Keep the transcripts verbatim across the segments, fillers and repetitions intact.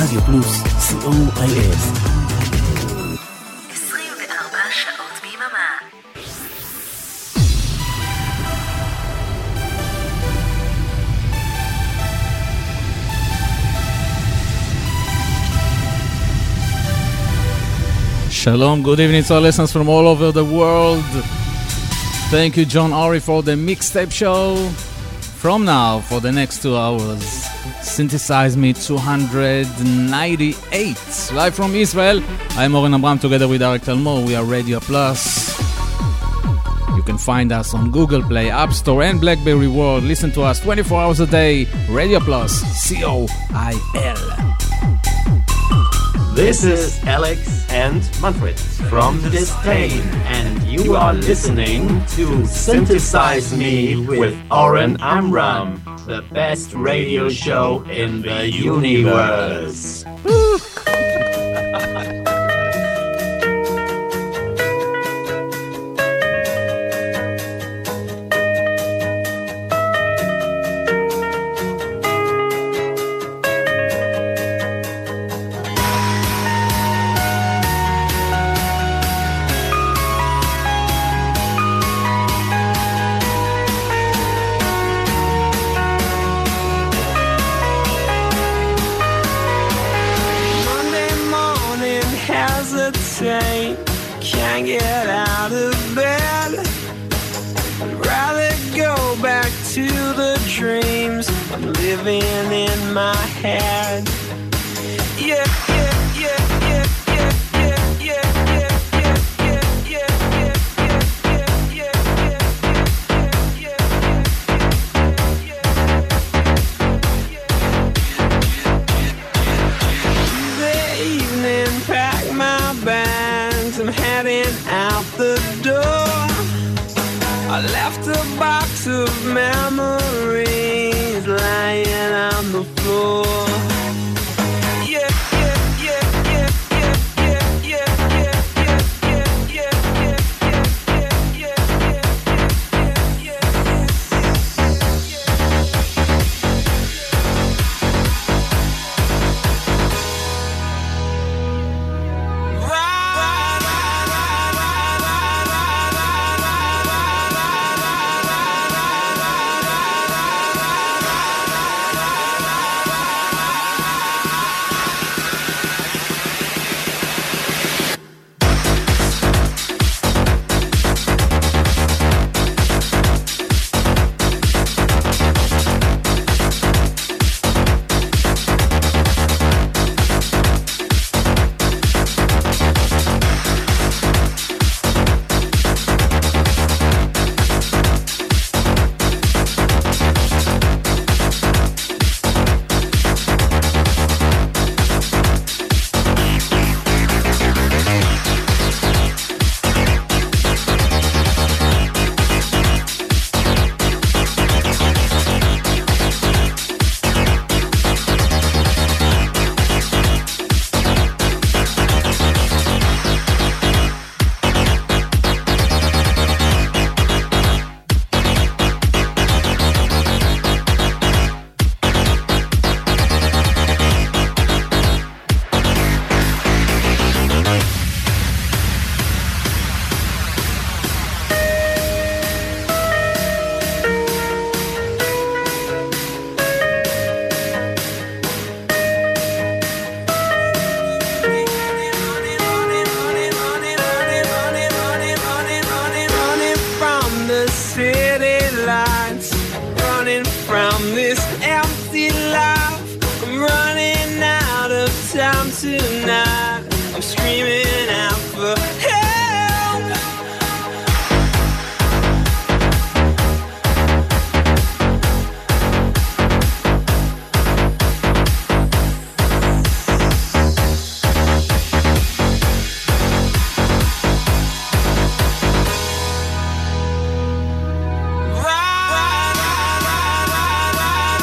רדיו פלוס, סי או איי אס. עשרים וארבע שעות ביממה. Shalom, good evening to our listeners from all over the world. Thank you, John Ari, for the mixtape show. From now, for the next two hours, Synthesize Me two ninety-eight. Live from Israel, I'm Oren Abram together with Arik Talmor. We are Radio Plus. You can find us on Google Play, App Store, and BlackBerry World. Listen to us twenty-four hours a day. Radio Plus, C O I L. This is Alex and Manfred from Disdain, and you are listening to Synthesize Me with Oren Amram, the best radio show in the universe. Can't get out of bed. I'd rather go back to the dreams I'm living in my head. Yeah, yeah, yeah, yeah, yeah, yeah, yeah, yeah, yeah, yeah, yeah, yeah, yeah. The evening pack my bags, I'm heading out the door. I left a box of memories lying on the floor. Yeah, yeah, yeah, yeah, yeah, yeah, yeah, yeah, yeah, yeah, yeah, yeah, yeah, tonight. I'm screaming out for help. Ra, ra, ra, ra, ra, ra.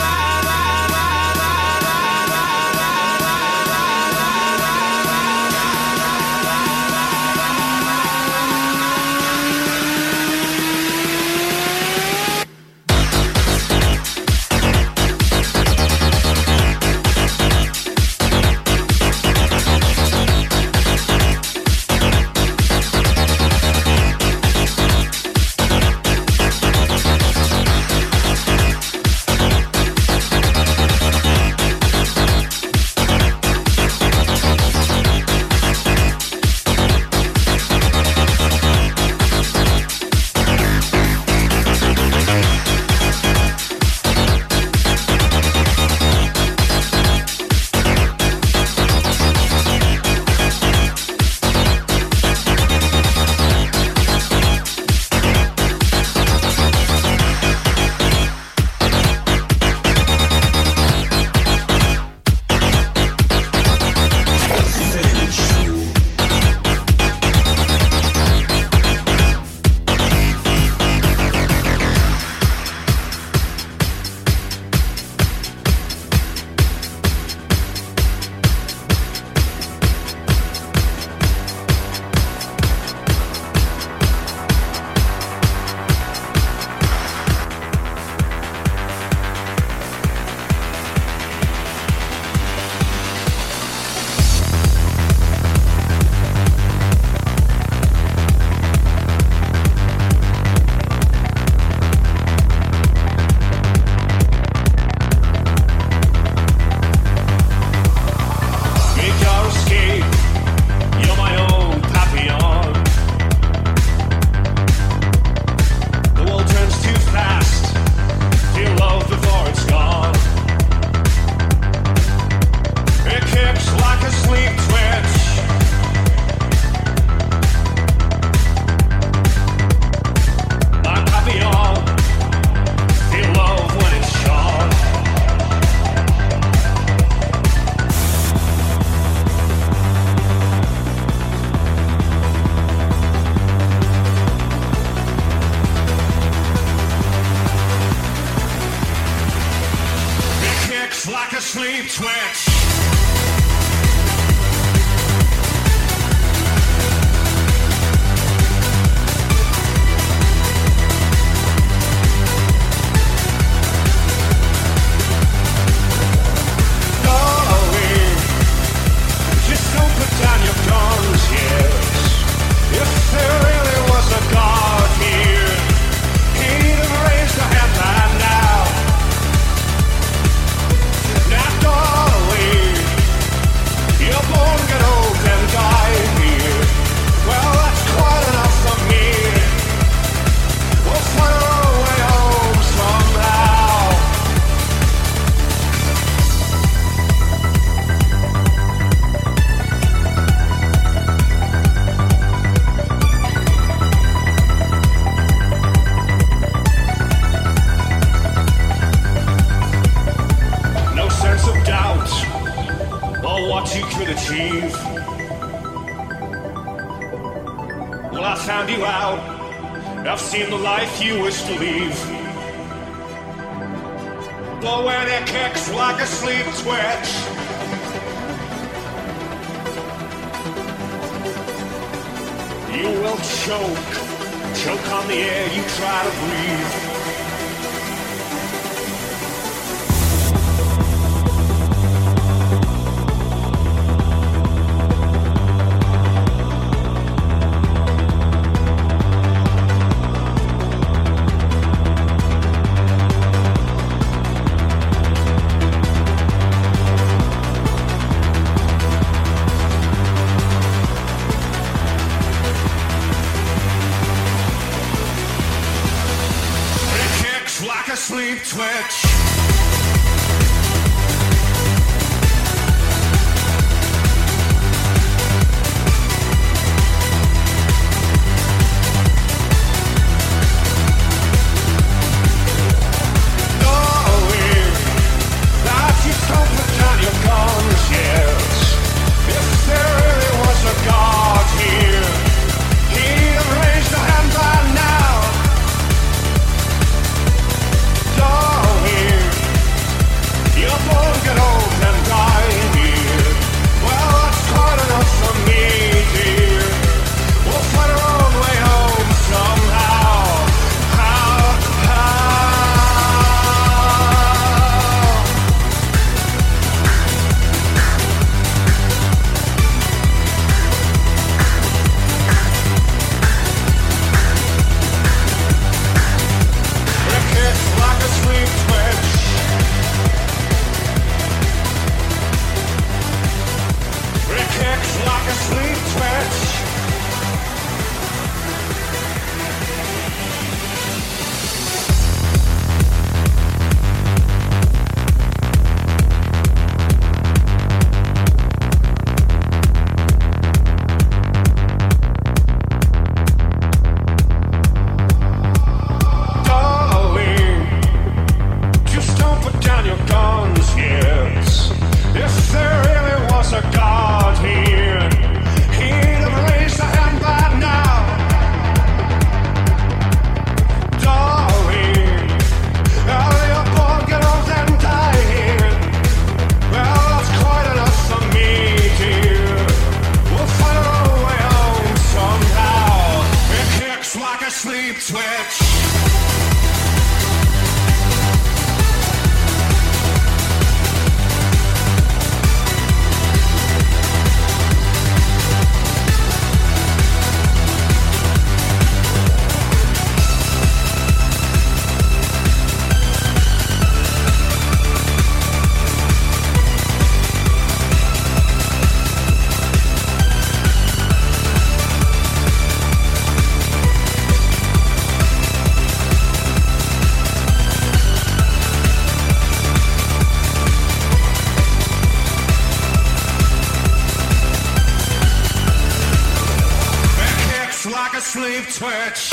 sleep twitch. Darling, just don't put down your guns, yes. If there really was a God here, he'd have raised a hand by now. Now, darling, you're born, get old, and die here. Well, that's quite enough for me. We'll find our way home somehow. No sense of doubt or what you could achieve. Well, I found you out. I've seen the life you wish to leave. But when it kicks like a sleep twitch, you will choke, choke on the air you try to breathe. Like a sleep twitch. Darling, now just don't put down your guns, yes. If there really was a God here, he'd have raised a hand by now. Darling, you're born, get old, and die here. Well, that's quite enough for me, dear. We'll find our own way home somehow. How, how? It kicks like a sleep twitch. It kicks like a sleep twitch. Darling, just don't put down your guns, yes. If there really was a God here, he'd have raised a hand by now. Darling, oh, you're born, get old, and die here. Well, that's quite enough for me, dear. We'll find our own way home somehow. It kicks like a sleep twitch. It kicks like a sleep twitch.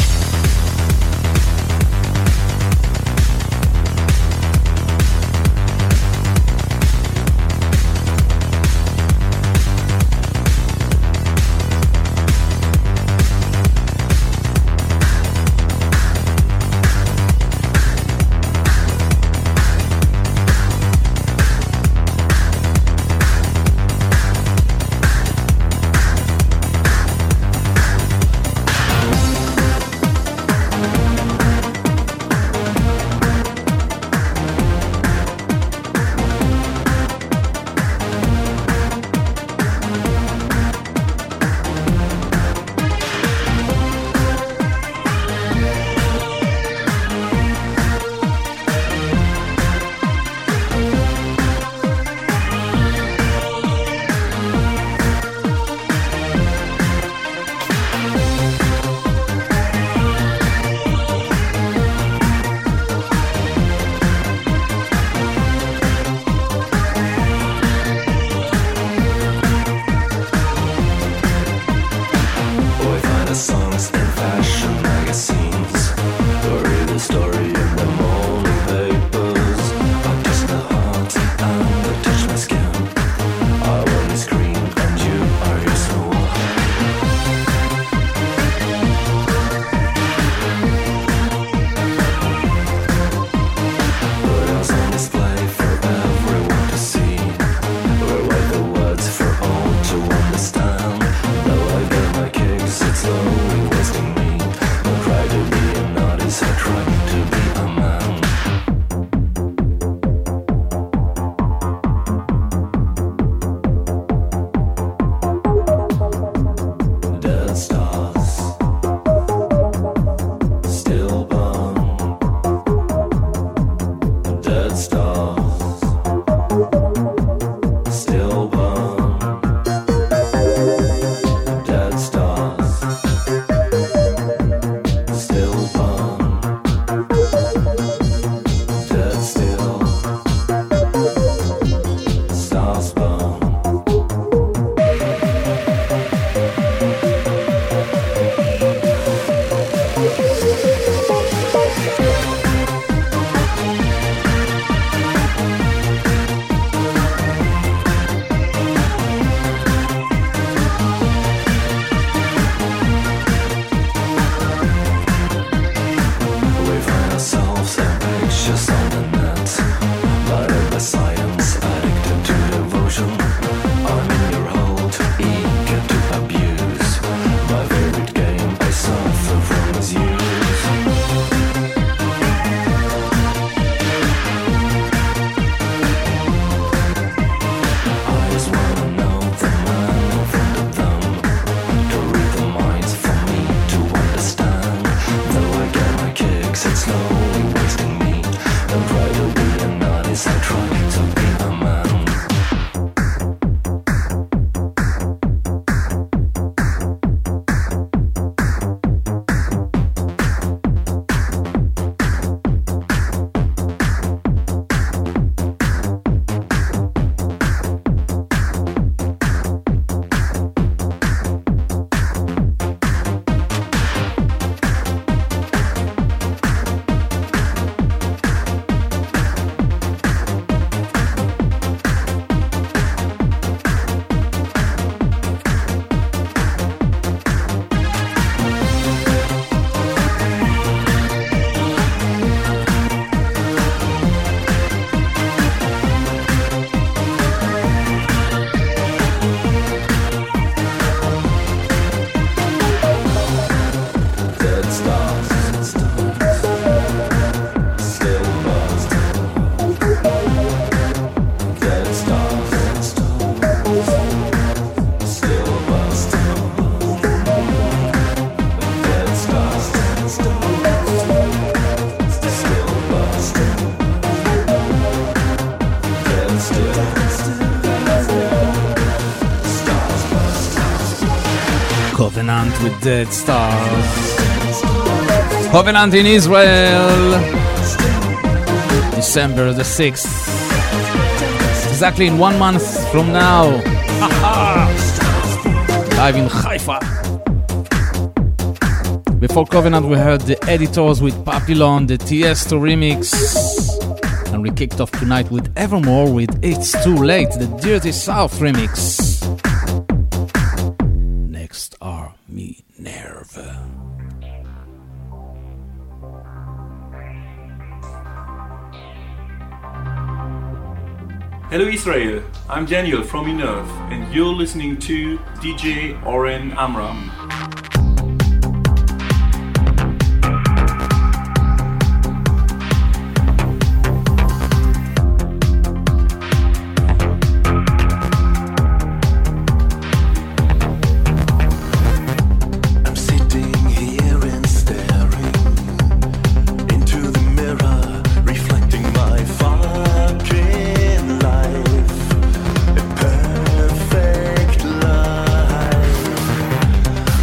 Covenant with Dead Stars. Covenant in Israel, December the sixth. Exactly in one month from now. Live in Haifa. Before Covenant we heard the Editors with Papillon, the Tiesto remix. And we kicked off tonight with Evermore with It's Too Late, the Dirty South remix. Next are Minerva. Hello Israel, I'm Daniel from Minerva and you're listening to D J Oren Amram. Perfect life.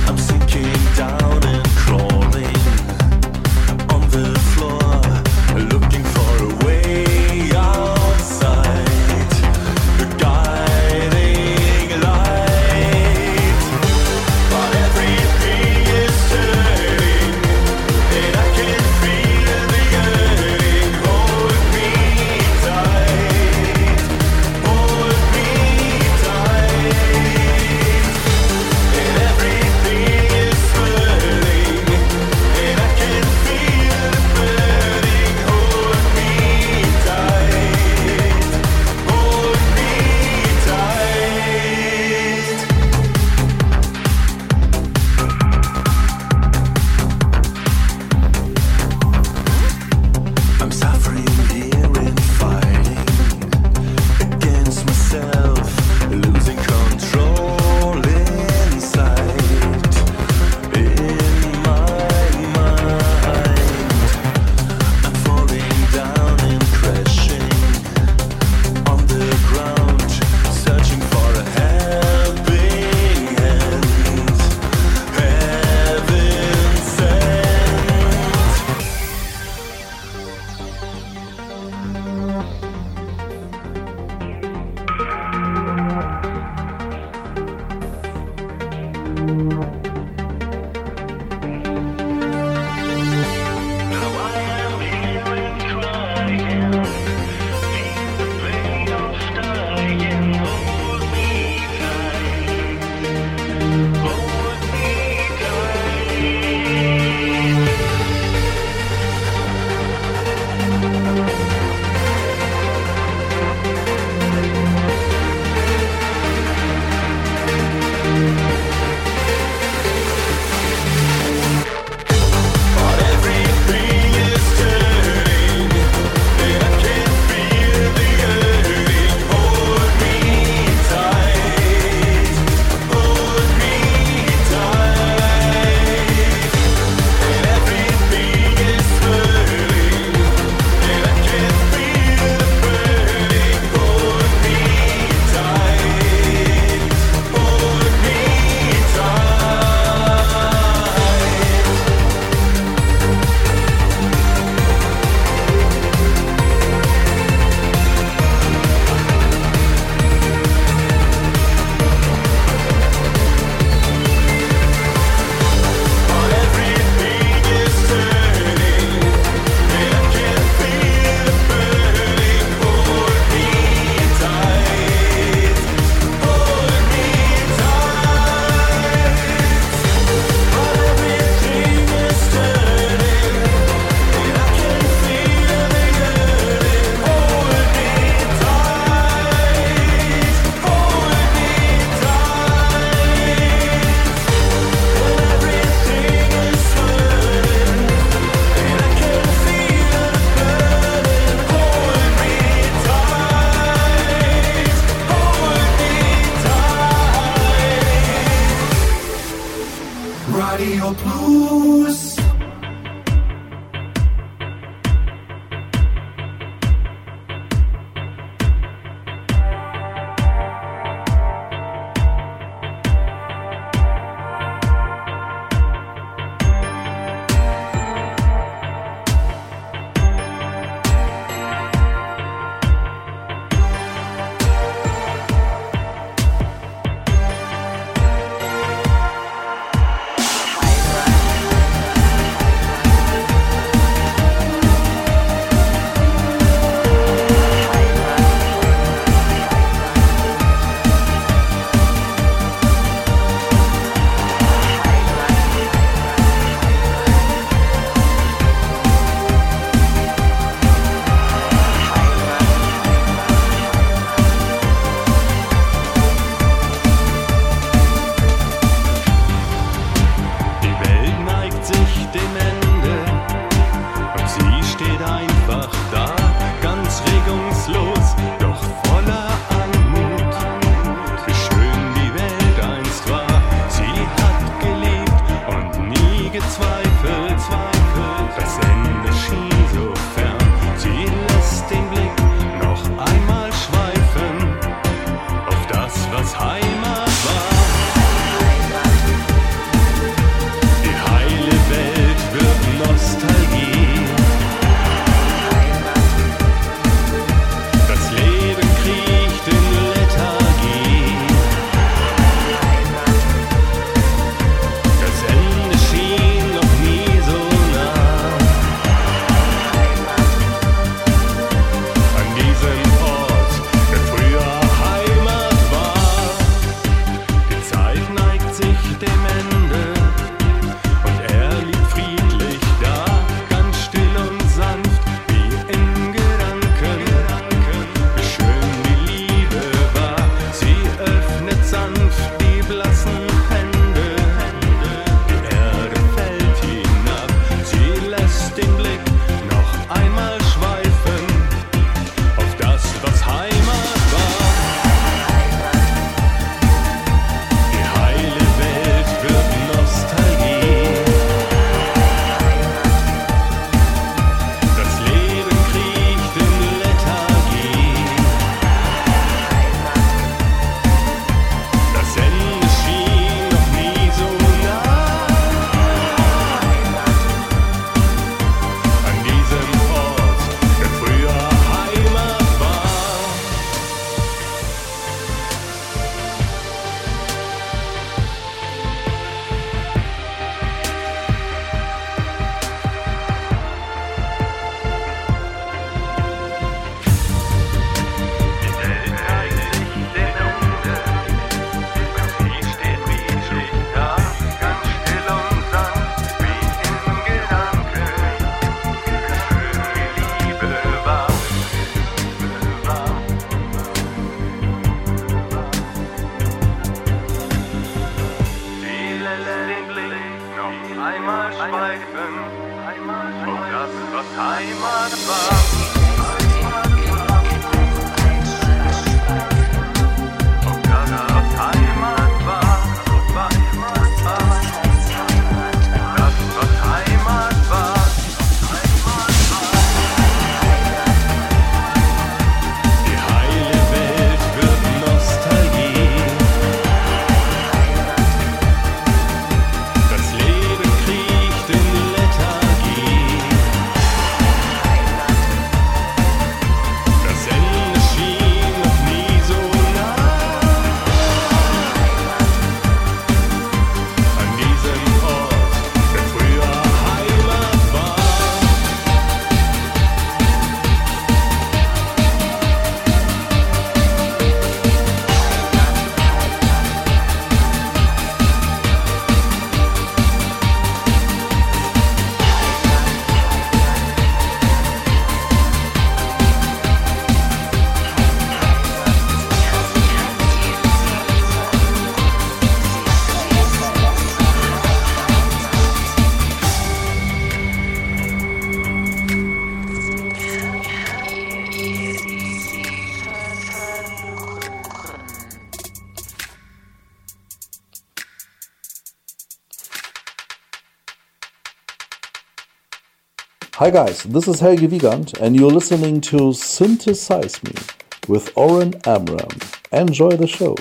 Hi guys, this is Helge Wiegand and you're listening to Synthesize Me with Oren Amram. Enjoy the show.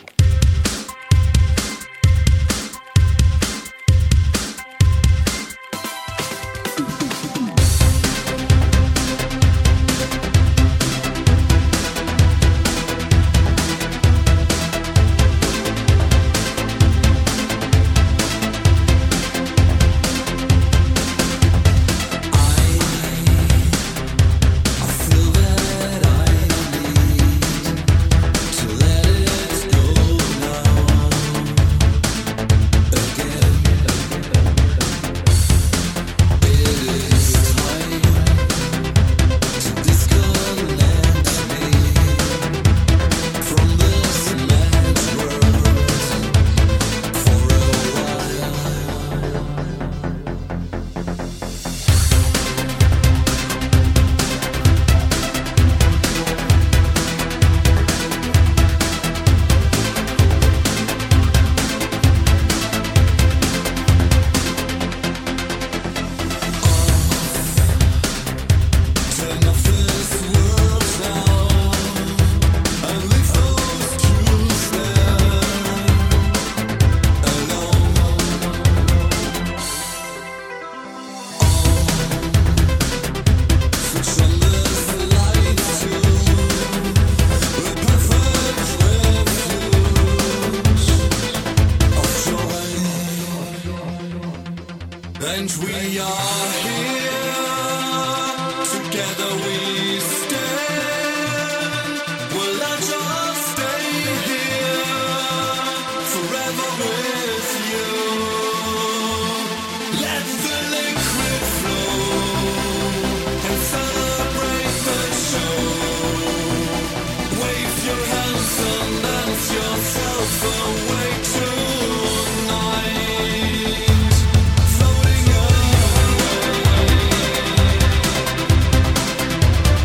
Floating away.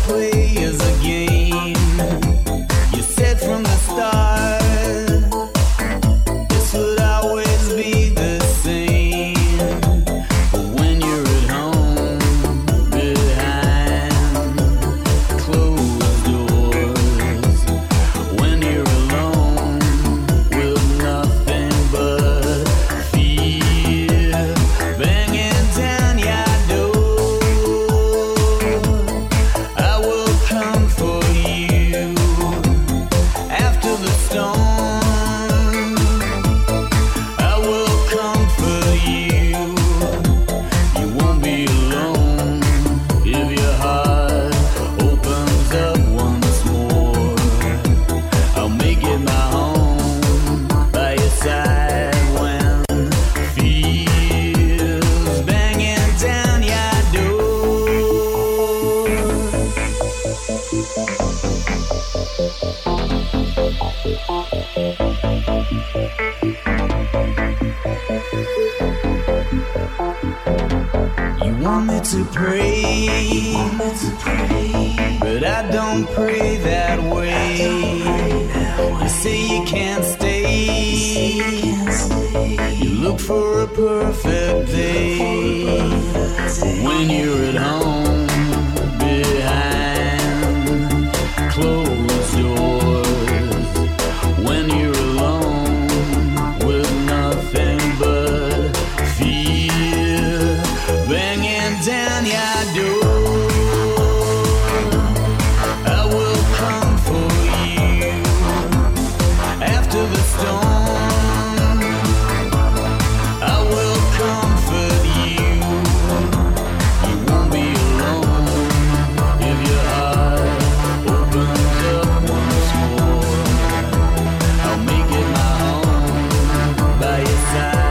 to pray, but I don't pray that way. You say you can't stay, you look for a perfect day. When you're at home behind closed doors, when you're alone with nothing but fear banging down your door, I will come for you after the storm. I will comfort you. You won't be alone if your heart opens up once more. I'll make it my home by your side.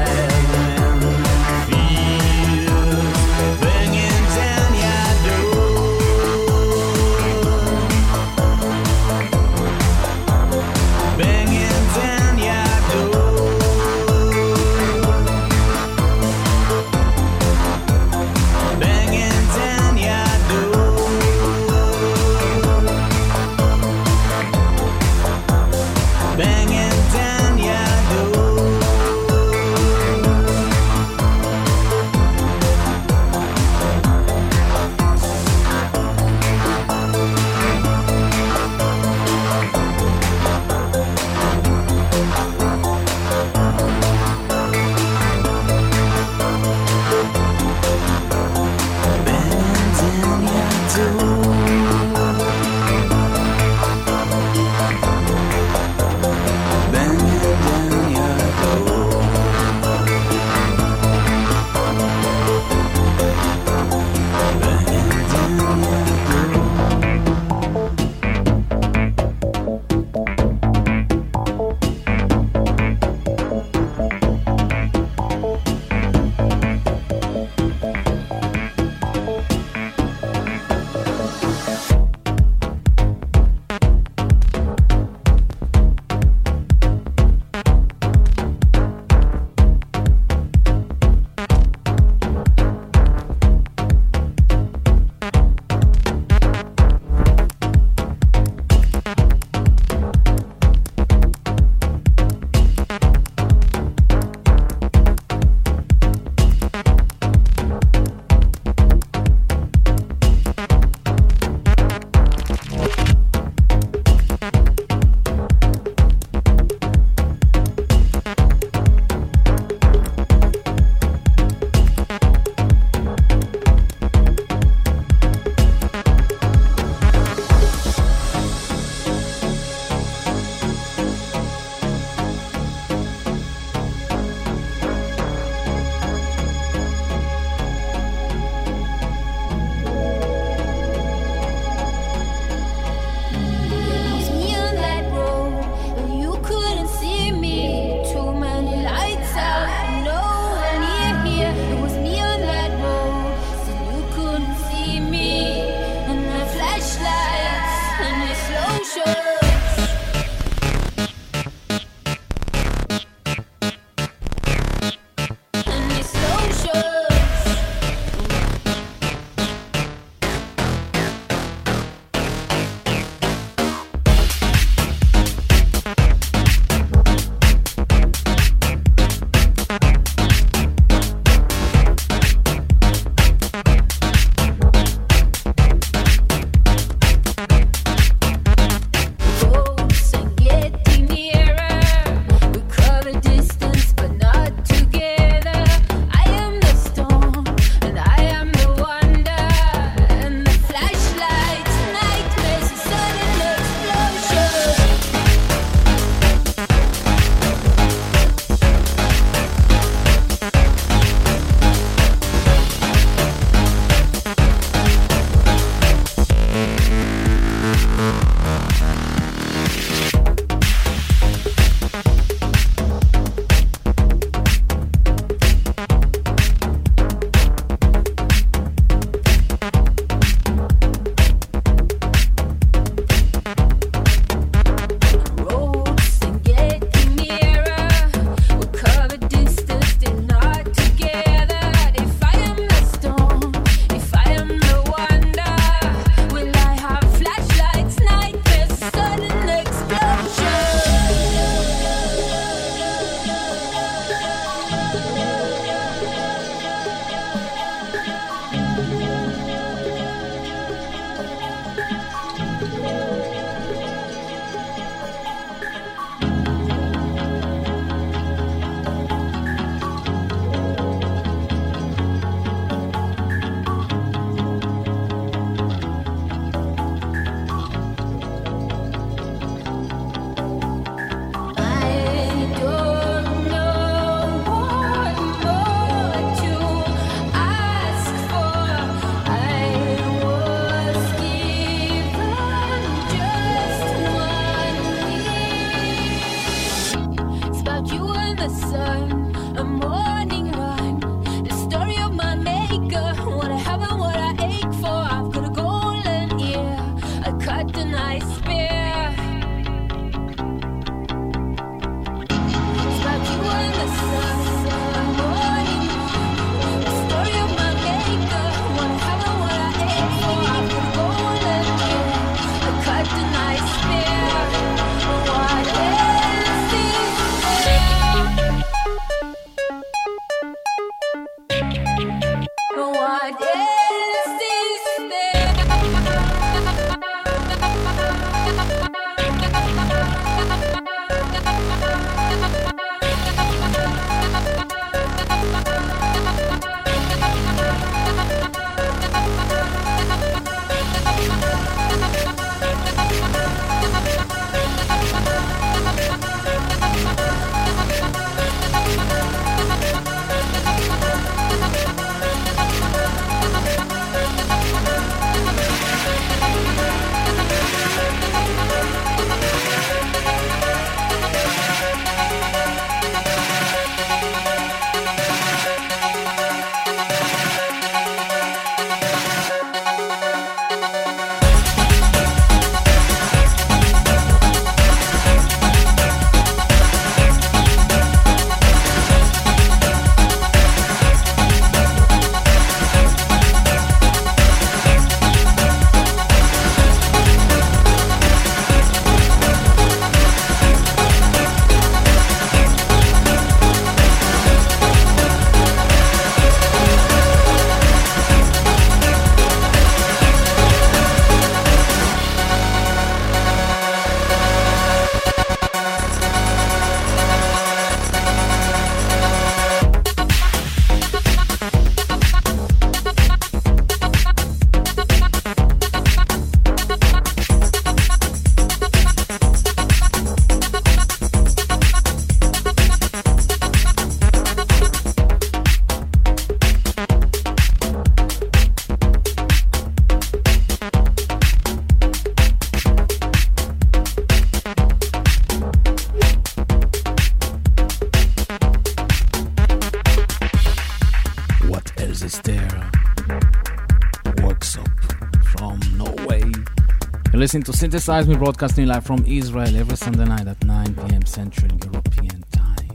Listening to Synthesize Me, broadcasting live from Israel every Sunday night at nine p.m. Central European Time.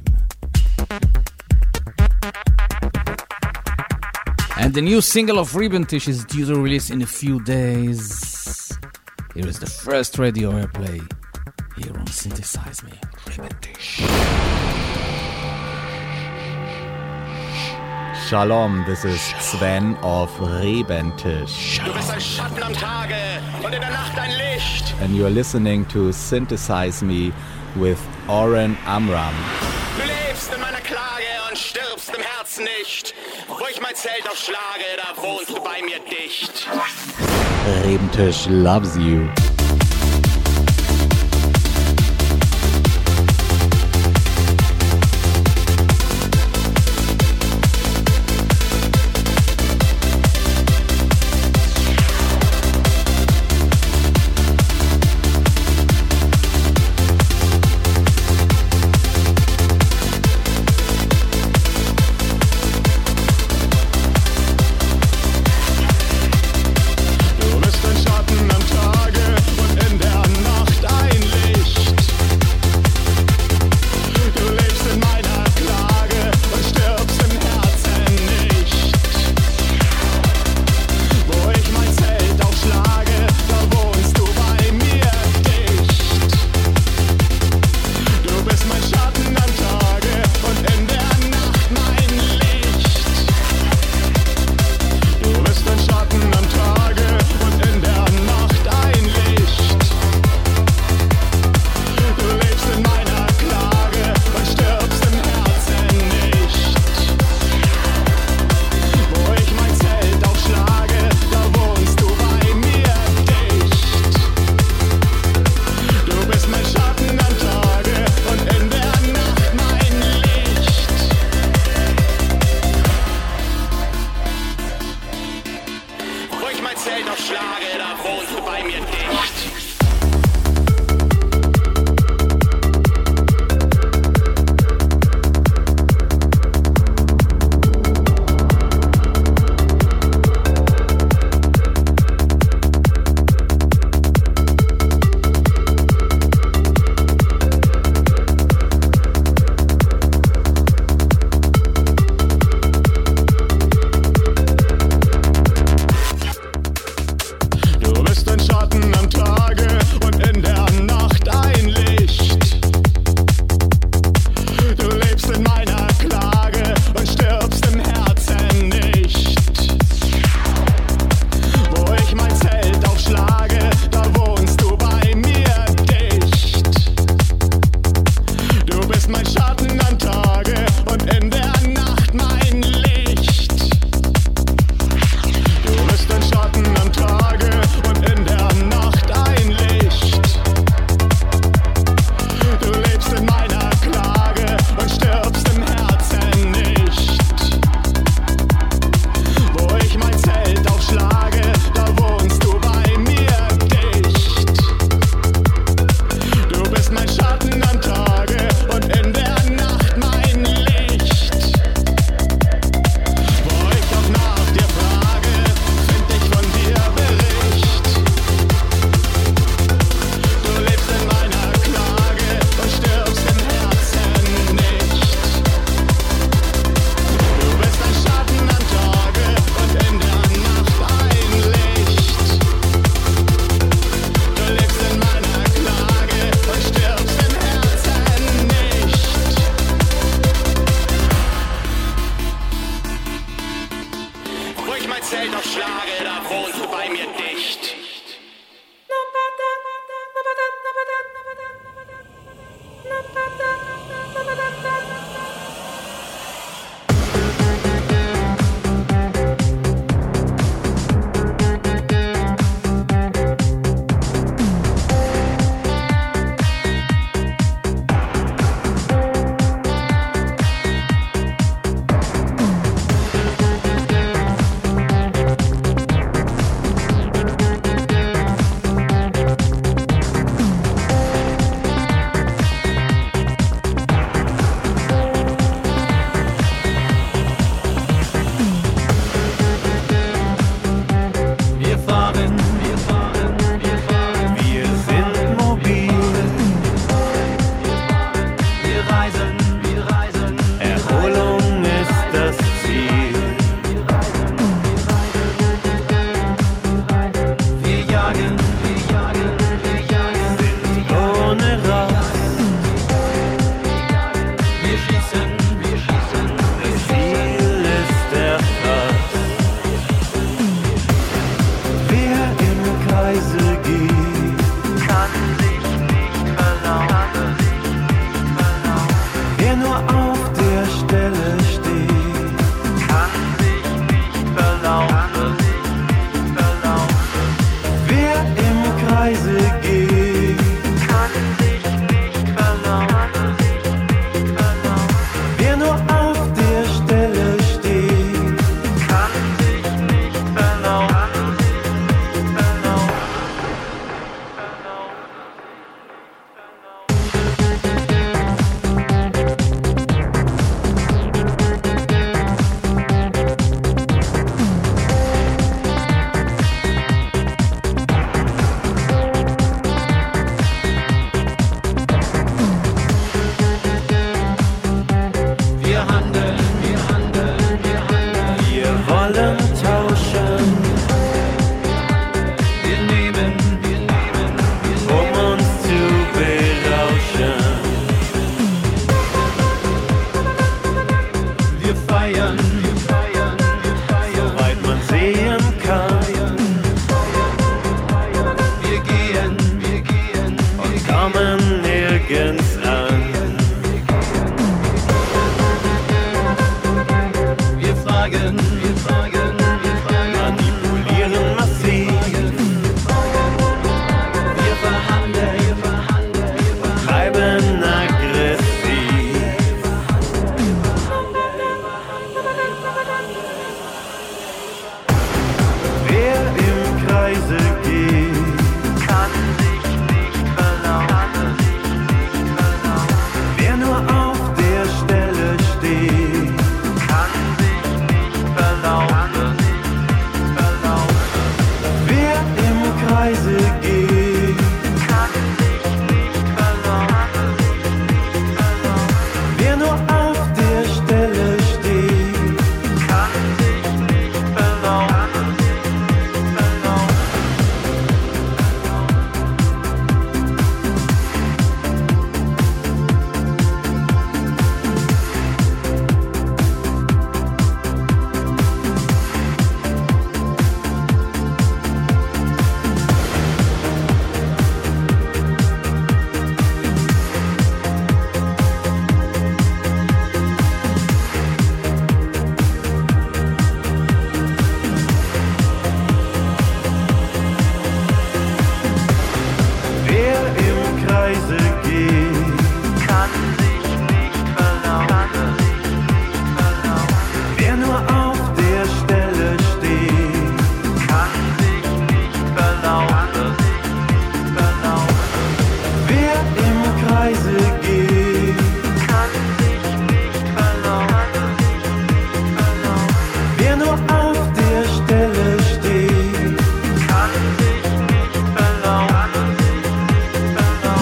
And the new single of Ribbentish is due to release in a few days. Here is the first radio airplay here on Synthesize Me, Ribbentish. Shalom, this is Sven of Ribbentish. Du bist ein Schatten am Tage und in der Nacht ein Licht. And you're listening to Synthesize Me with Oren Amram. Du lebst in meiner Klage und stirbst im Herzen nicht. Wo ich mein Zelt aufschlage, da wohnst du bei mir dicht. Ribbentish loves you. Du bist ein Schatten am Tage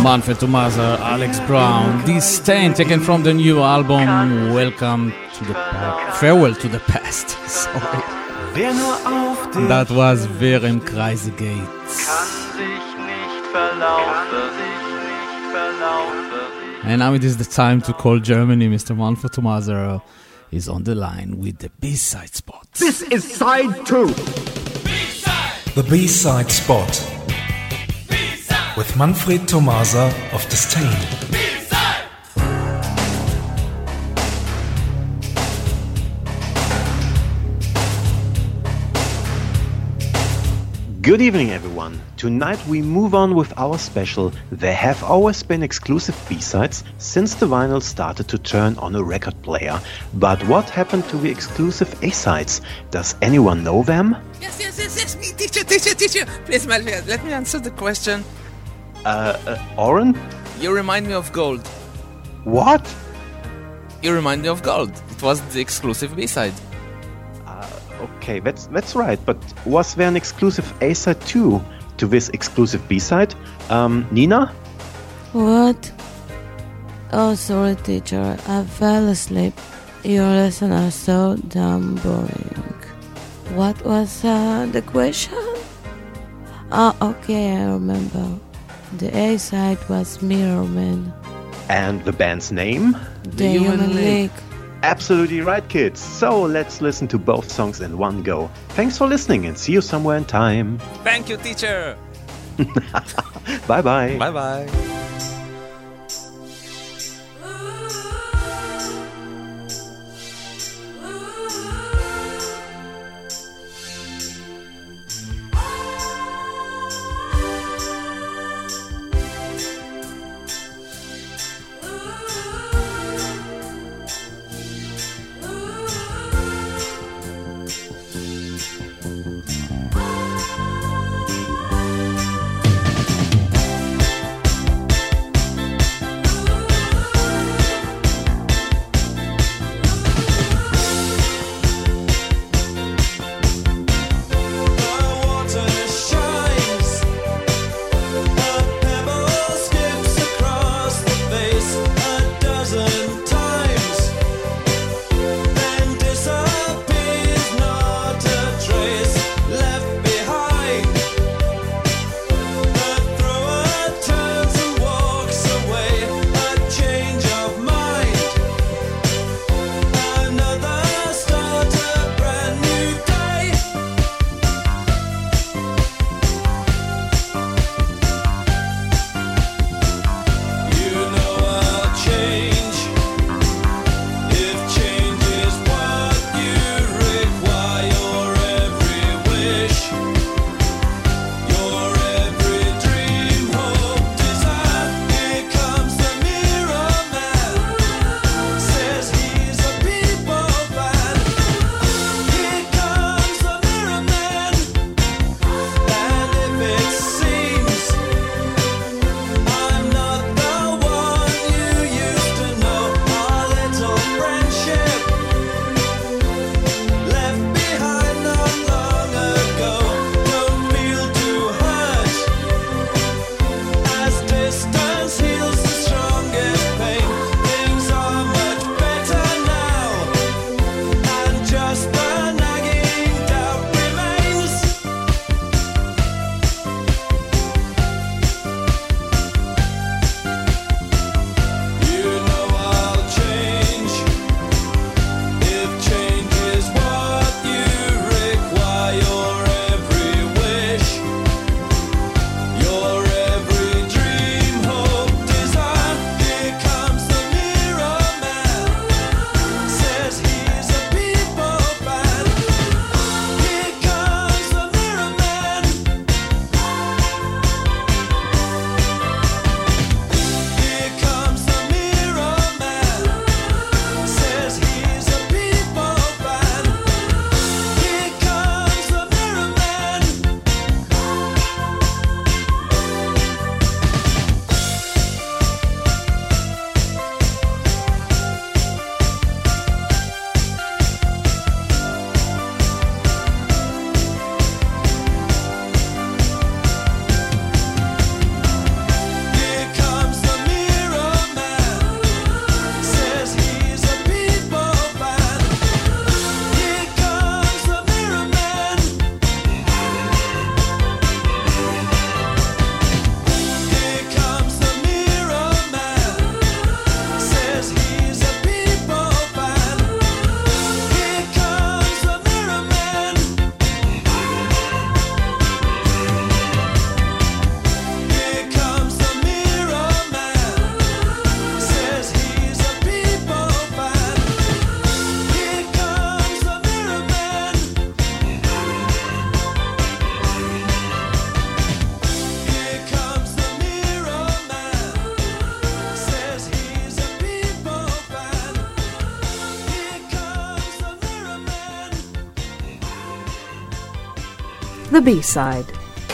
Manfred Thomaser, Alex Brown, Disdain, taken from the new album Welcome to the Past. Farewell to the Past. Sorry. That was Wer im Kreise geht. And now it is the time to call Germany. Mister Manfred Thomaser is on the line with the B-side spot. This is side two. B-side. The B-side spot. B-side. With Manfred Thomaser of Disdain. Good evening, everyone. Tonight we move on with our special There Have Always Been Exclusive B-Sides since the vinyl started to turn on a record player. But what happened to the exclusive A-Sides? Does anyone know them? Yes, yes, yes, yes, me, teacher, teacher, teacher. Please, Malvia, let me answer the question. Uh, uh, Oren? You remind me of Gold. What? You remind me of Gold. It was the exclusive B-side. Okay, that's that's right, but was there an exclusive A-side too to this exclusive B-side? Um, Nina? What? Oh, sorry, teacher. I fell asleep. Your lessons are so damn boring. What was uh, the question? Oh, okay, I remember. The A-side was Mirror Man. And the band's name? The, the Human, Human League. League. Absolutely right, kids. So let's listen to both songs in one go. Thanks for listening and see you somewhere in time. Thank you, teacher. Bye-bye. Bye-bye. the B-side.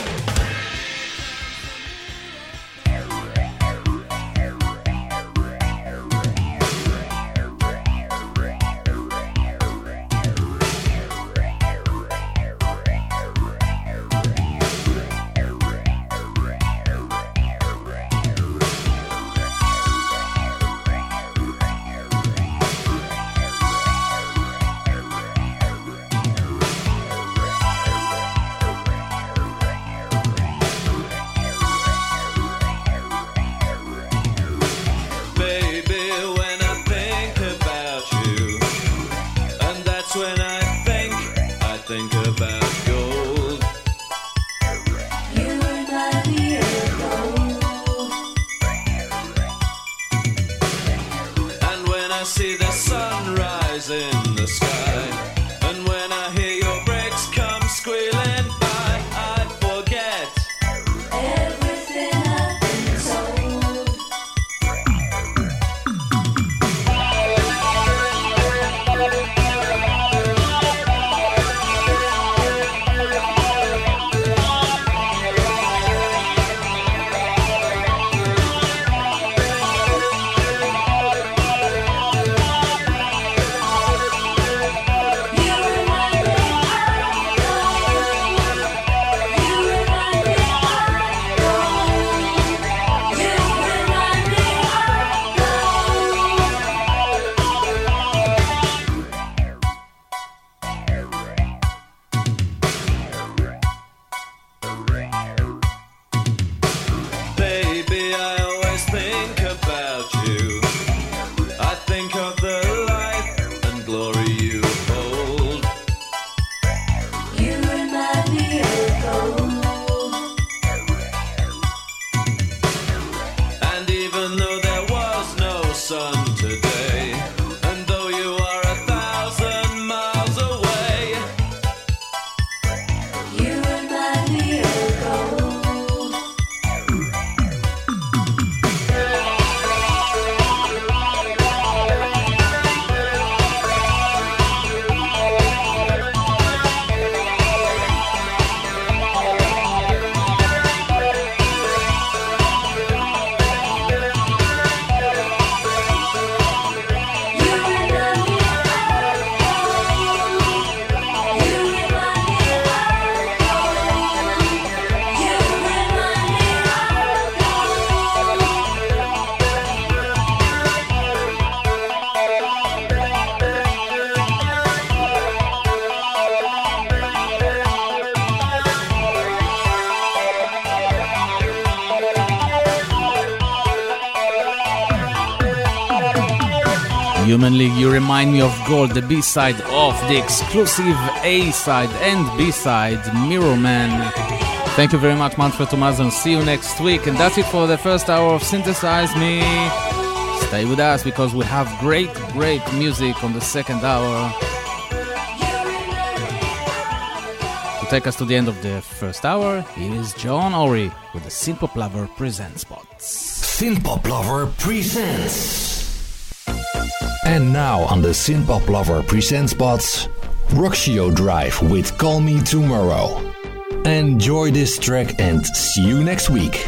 Human League, You Remind Me of Gold, the B-side of the exclusive A-side and B-side, Mirror Man. Thank you very much, Manfred Tomazon. See you next week. And that's it for the first hour of Synthesize Me. Stay with us because we have great, great music on the second hour. To take us to the end of the first hour, here is John Ori with the Synthpop Lover Presents Spots. Synthpop Lover Presents. And now on the Synthpop Lover Presents Spots, Roxio Drive with Call Me Tomorrow. Enjoy this track and see you next week.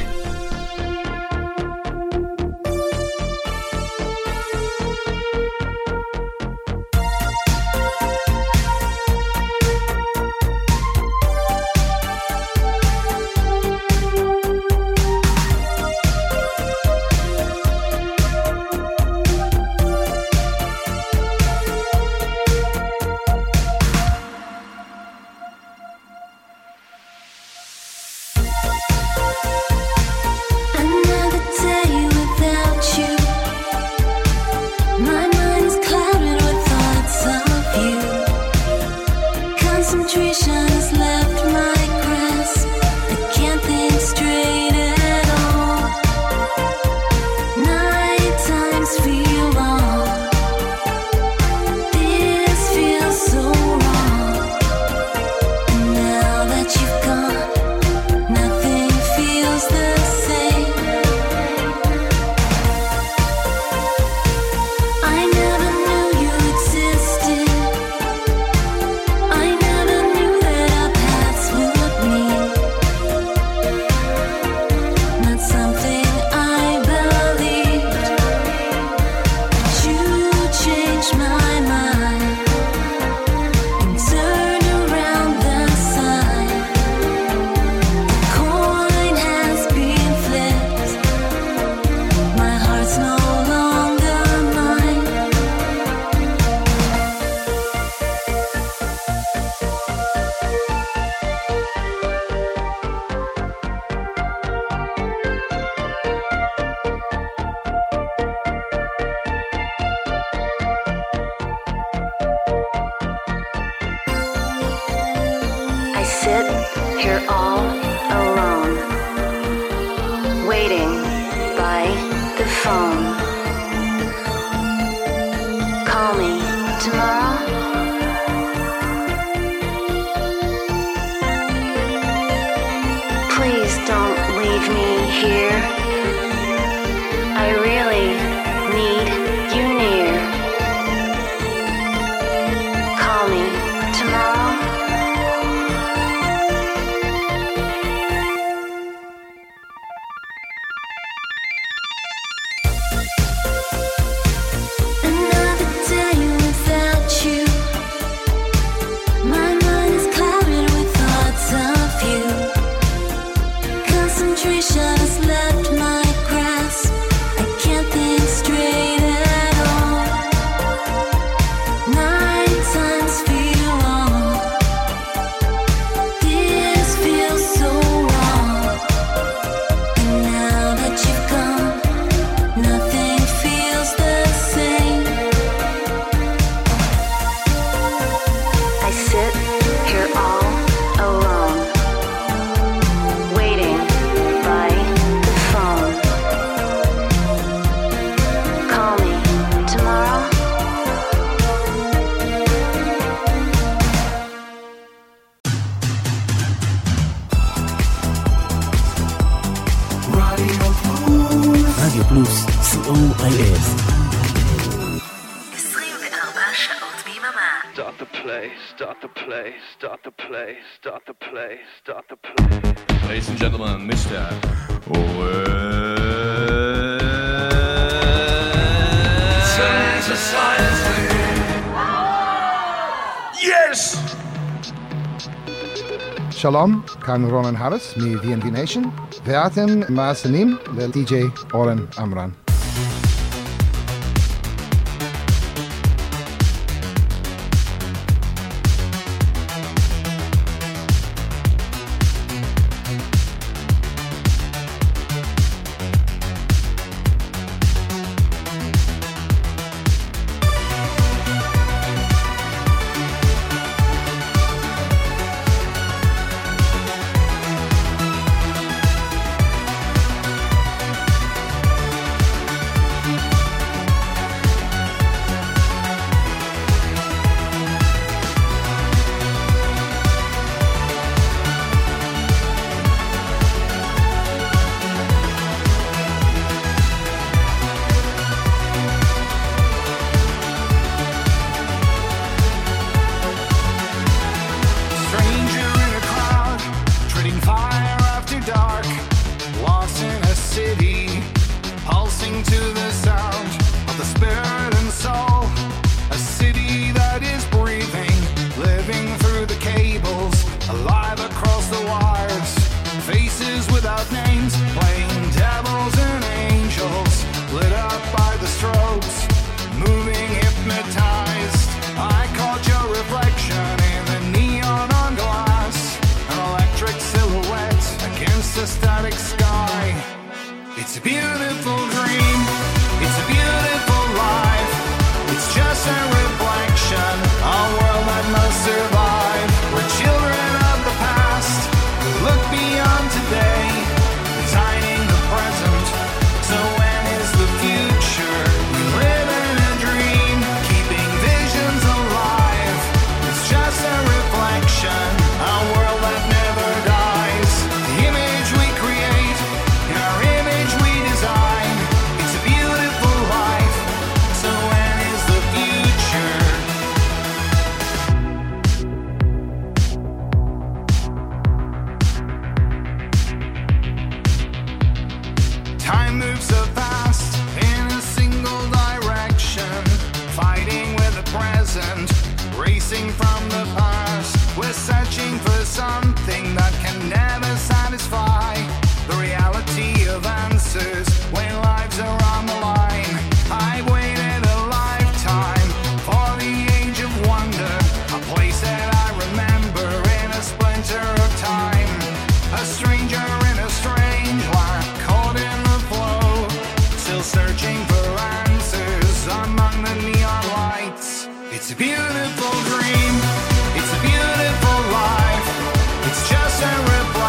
here all alone, waiting by the phone. Call me tomorrow. Please don't leave me here. I really need you near. Call me tomorrow. Another day without you. My mind is clouded with thoughts of you. Concentration has left my grasp. I can't think straight at all. Nine times feel long. This feels so wrong. And now that you've gone, nothing feels the same. I sit here all alone, waiting by the phone. Call me tomorrow. רדיו פלוס, סי או איי אס. עשרים וארבע שעות ביממה. Start the play, start the play, start the play, start the play, start the play. Ladies and gentlemen, Mister Yes! שלום, כאן רונן הריס מ-וי אן בי Nation, ואתם מאזינים ל-די-ג'יי אורן עמרם. Stranger in a crowd, treading fire after dark, lost in a city, pulsing to the sound of the spirit and soul. A city that is breathing, living through the cables, alive across the wires. Faces without names, playing devils and angels, lit up by the strobes, moving hypnotized. I caught your reflection in the neon on glass, an electric silhouette against a static sky. It's a beautiful dream, it's a beautiful life. It's just a reflection, a world that must survive. We're children of the past, who look beyond today, designing the present. So when is the future? We live in a dream, keeping visions alive. It's just a reflection, a world that never dies. The image we create, in our image we design. It's a beautiful life. So when is the future? Time moves so fast in a single direction, fighting with the present, racing from the past. We're searching for something that can never satisfy. The reality of answers when lives are on the line. I waited a lifetime for the age of wonder, a place that I remember in a splinter of time. A stranger in a strange land, caught in the flow, still searching for answers among the neon lights. It's a beautiful dream, it's a beautiful life. It's just a reflection.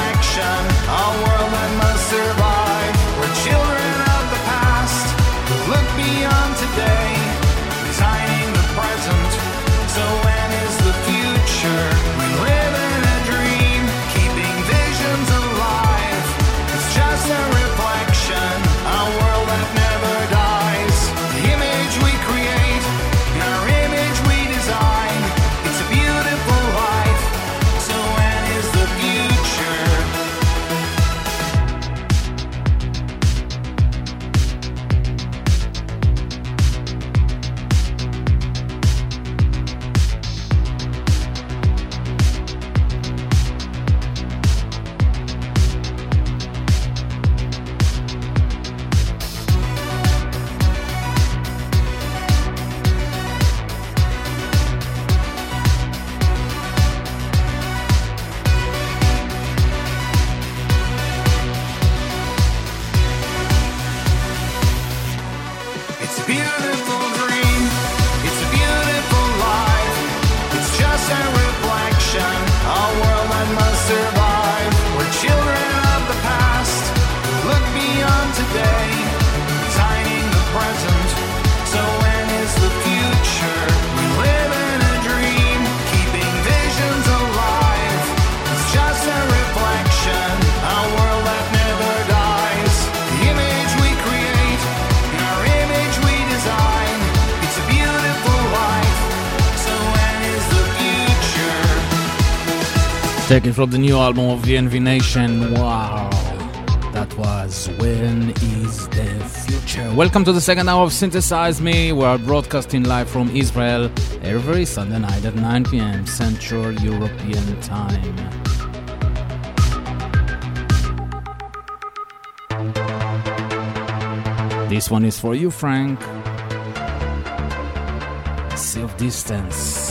Taken from the new album of V N V Nation. Wow, that was When Is the Future. Welcome to the second hour of Synthesize Me. We are broadcasting live from Israel every Sunday night at nine p.m. Central European Time. This one is for you, Frank. Sea of Distance.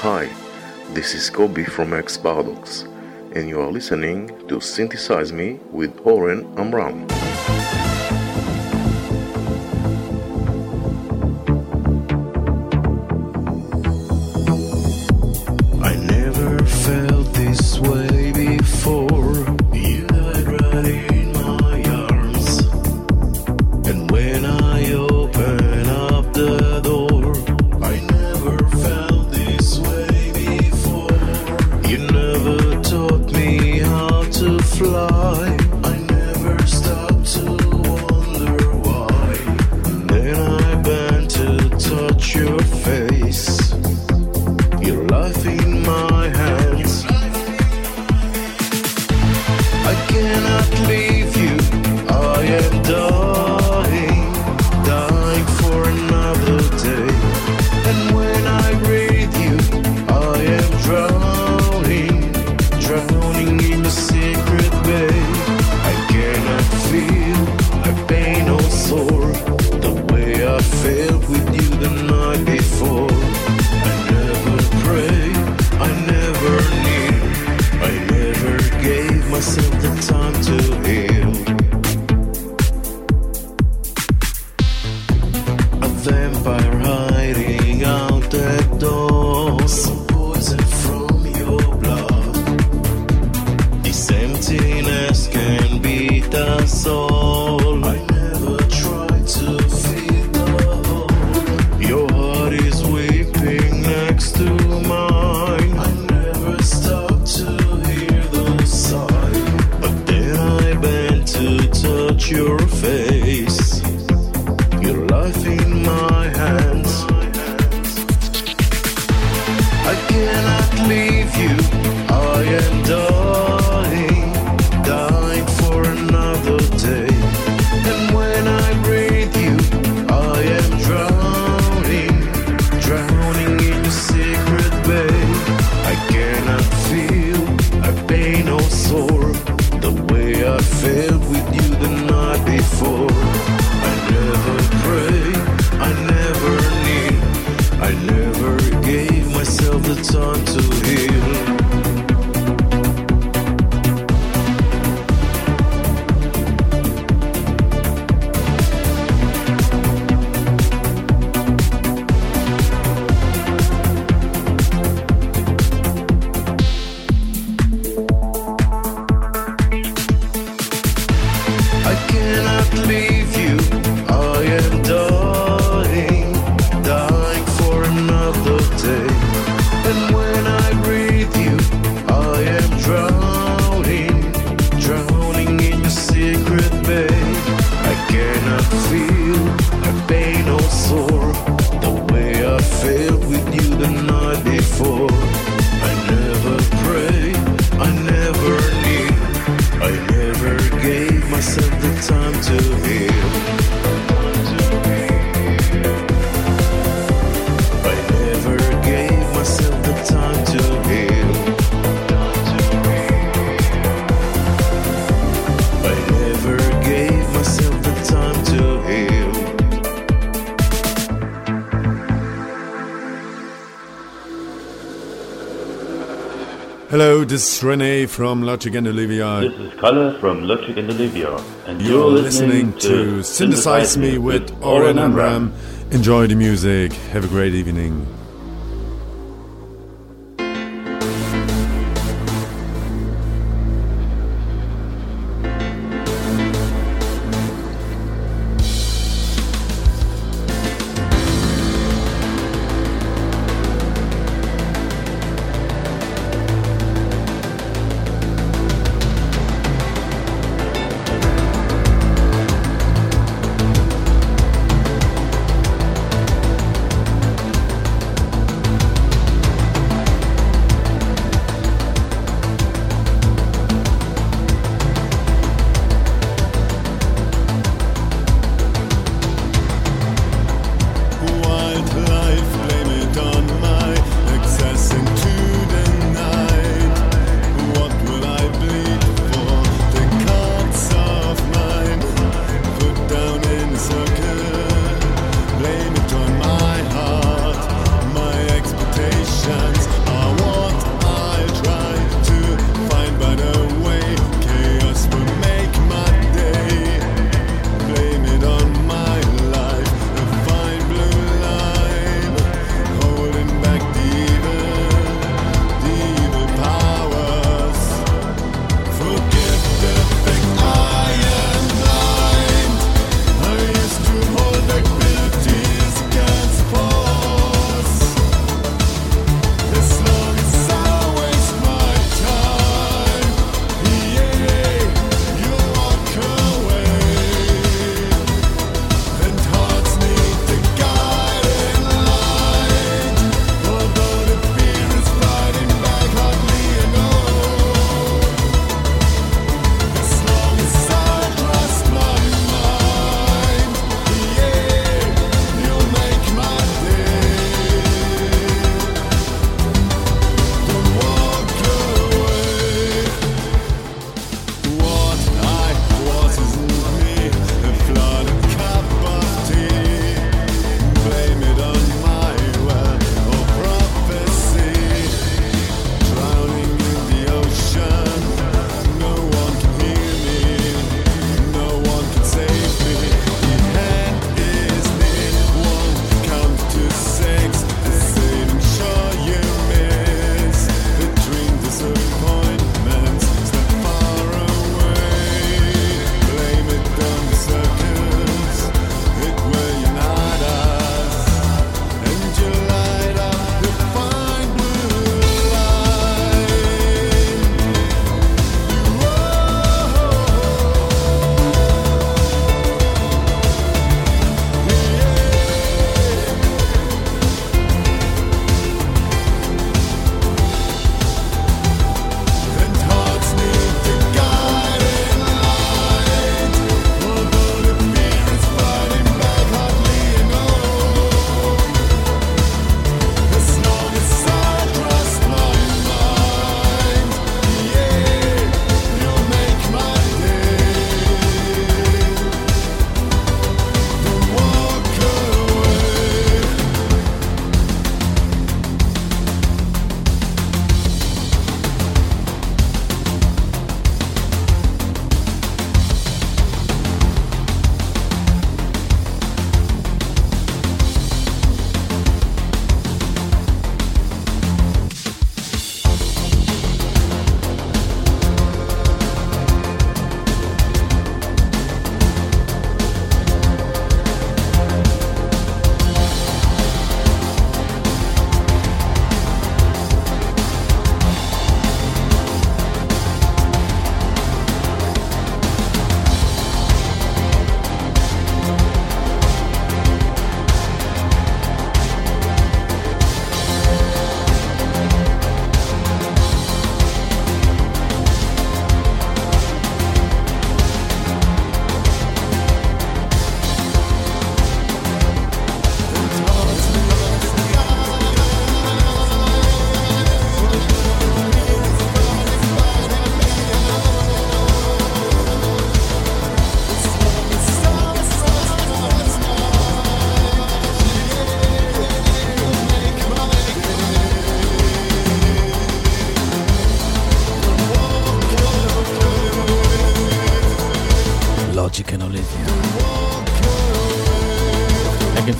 Hi, this is Kobe from X Paradox, and you are listening to Synthesize Me with Oren Amram. I never felt this way before. You died right in my arms, and when I open up the door, I never felt this way before. You never taught me how to fly. I never stopped to wonder why. And then I bent to touch your face, your life in my hands. I cannot leave you, I am dying, dying for another day. And when I breathe you, I am drowning, drowning in the secret bay. I cannot feel a pain or sore the way I felt with you the night before. I never prayed, I never knew, I never gave myself the time to heal. A vampire hiding out that door, some poison from your blood. This emptiness can beat us all. I never tried to feed the hole. Your heart is weeping next to mine. I never stopped to hear those sighs, but then I bent to touch your face, your life in my hands. I cannot leave you, I am dying, dying for another day. And when I breathe you, I am drowning, drowning in the secret bay. I cannot feel a pain or sore the way I felt with you the night before. I never prayed, I never knew, I never gave myself the time to heal. I cannot leave you, I am dying, dying for another day. And when I breathe you, I am drowning, drowning in your secret bay. I cannot feel a pain or sore the way I felt with you the night before. I never prayed, I never knew, I never gave myself the time to heal. I never gave myself the time to heal. I never gave myself the time to heal. Hello, this is Rene from Logic and Olivia. This is Kalle from Logic and Olivia. And You're, you're listening, listening to Synthesize Me with Oren Amram. Enjoy the music. Have a great evening.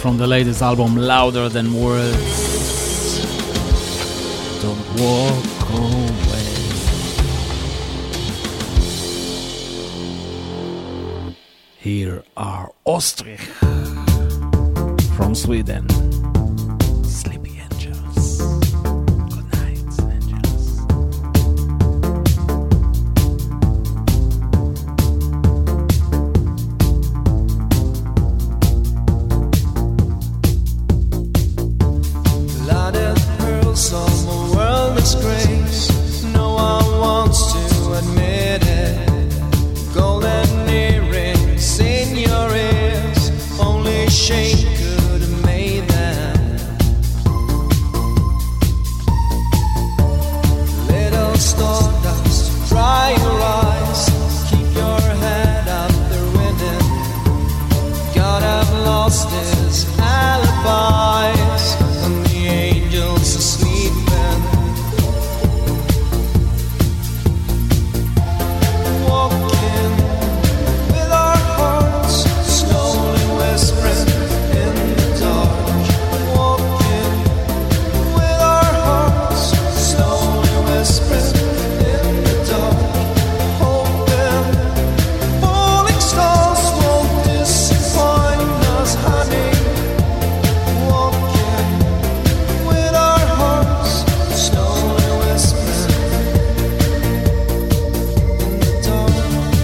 from the latest album, Louder Than Words. Don't walk away. Here are Ostrich from Sweden. Sleepy Angels. Good night, angels. Lighted pearls on the world disgrace. No one wants to admit it. Golden earrings in your ears. Only shame could have made them. Little stardust, dry your eyes. Keep your head up, they're winning. God have lost his alibis. And the angels are sleeping. Walking with our hearts slowly whispering in the dark. Walking with our hearts slowly whispering in the dark. Hoping falling stars won't disappoint us, honey. Walking with our hearts slowly whispering in the dark.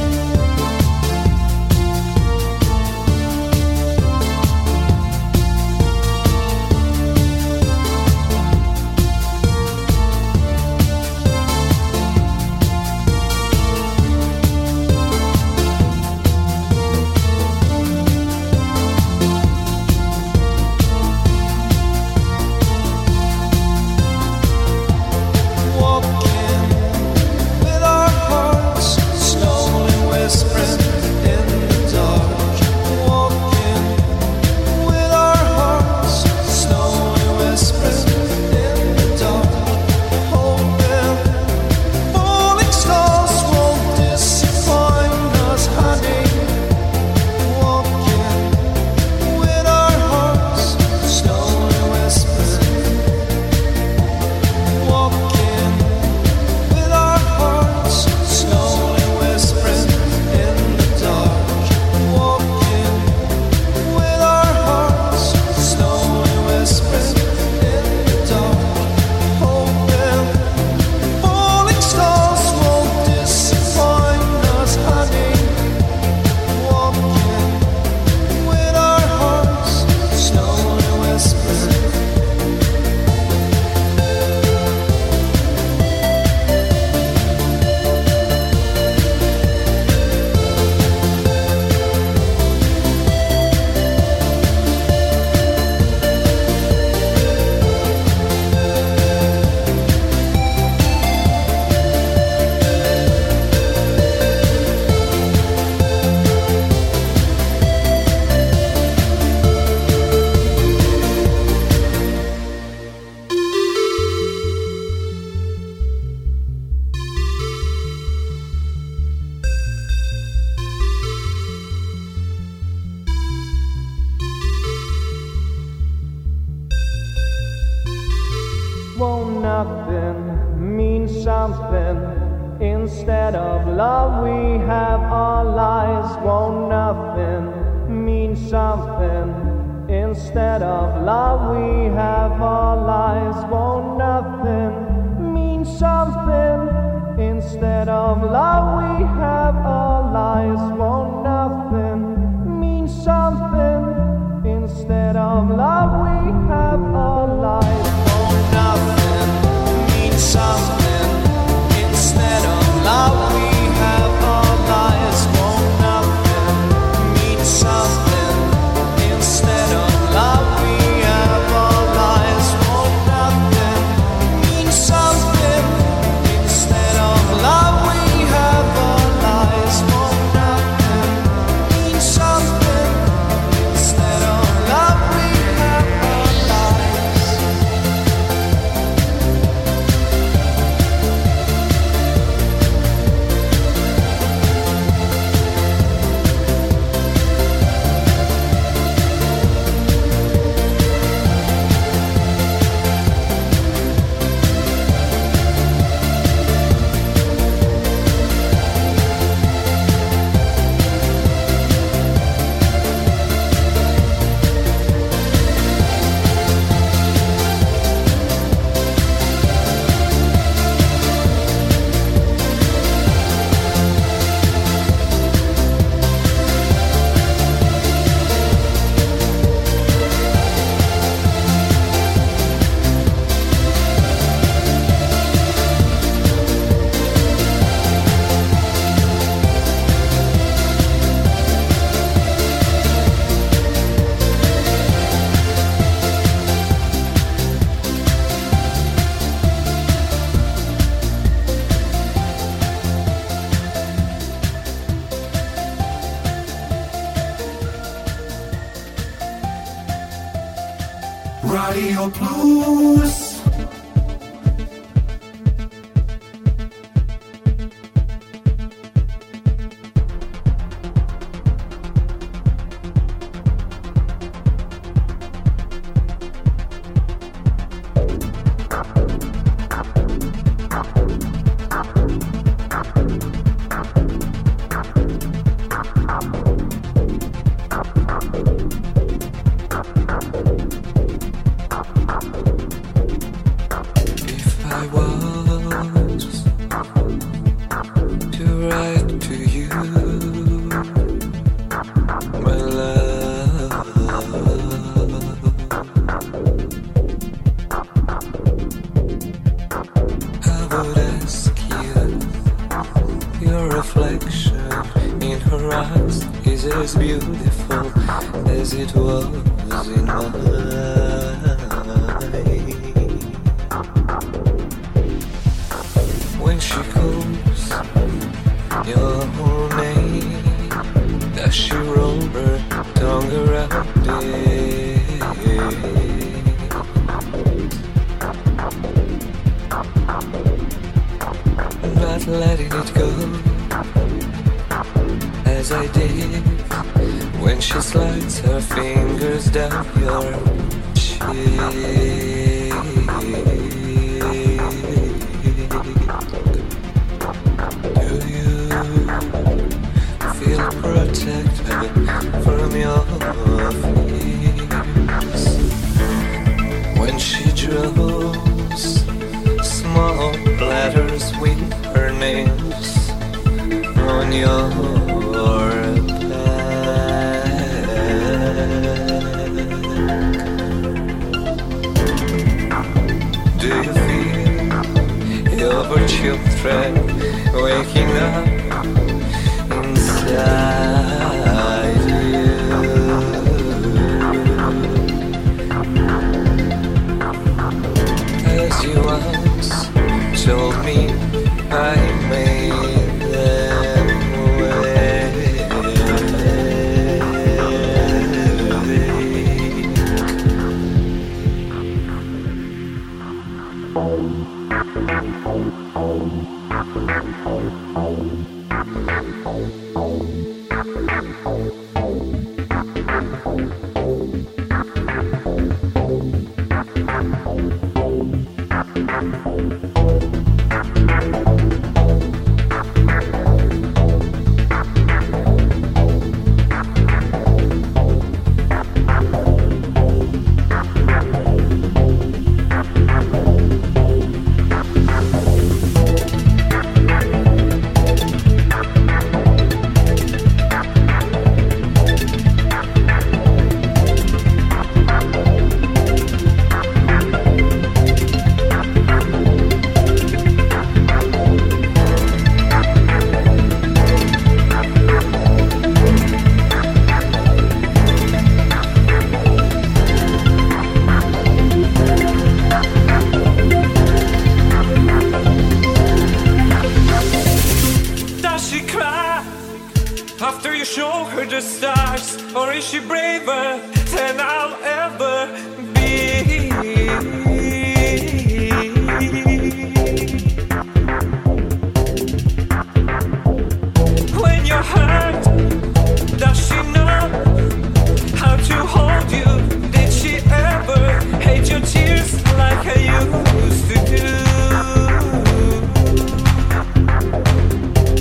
Walking with our hearts slowly whispering in the dark. Walking with our hearts slowly whispering in the dark. Hoping falling stars won't disappoint us, honey. Walking with our hearts slowly whispering. Walking with our hearts slowly whispering in the dark. Walking with our hearts slowly whispering in the dark. Hoping falling stars won't disappoint us, honey. Walking with our hearts slowly whispering. Won't nothing mean something instead of love? We have our lives. Won't nothing mean something instead of love? We have our lives. Won't nothing mean something instead of love? We have our lives. Won't nothing mean something instead of love? We have our lives. Won't nothing mean something instead of love? We have our lives. Won't nothing mean something instead of love? We have our lives. Won't nothing Radio Plus.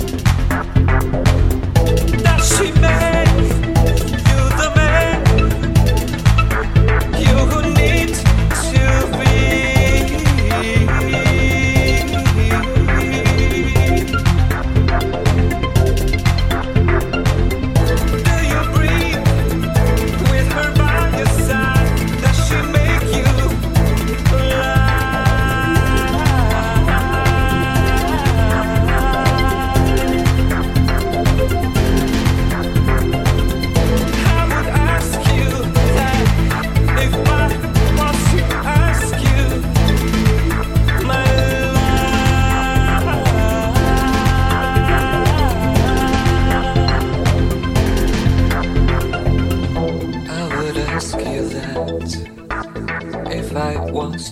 Does she make you the man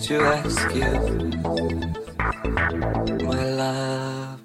to ask you, my love.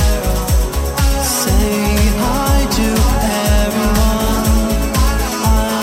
Say hi to everyone.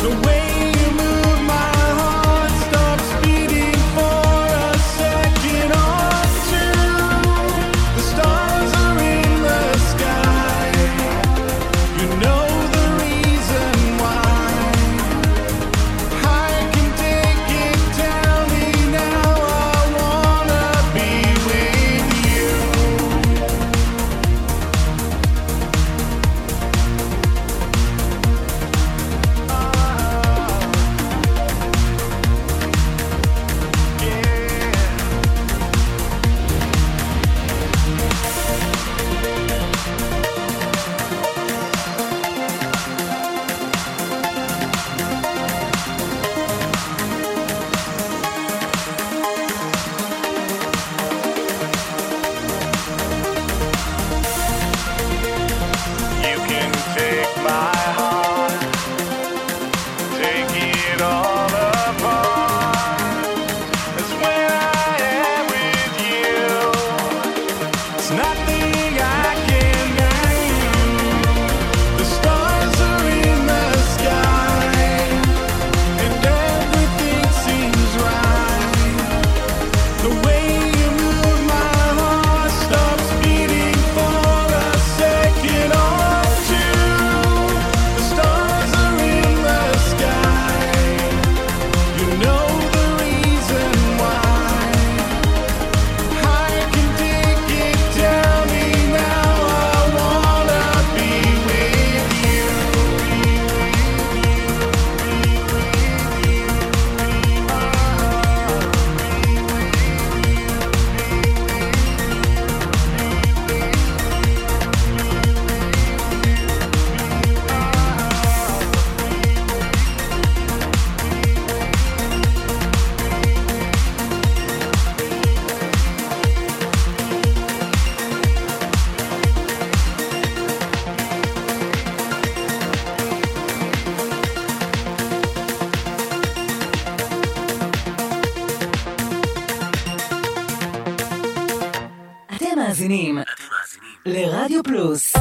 מאזינים לרדיו פלוס.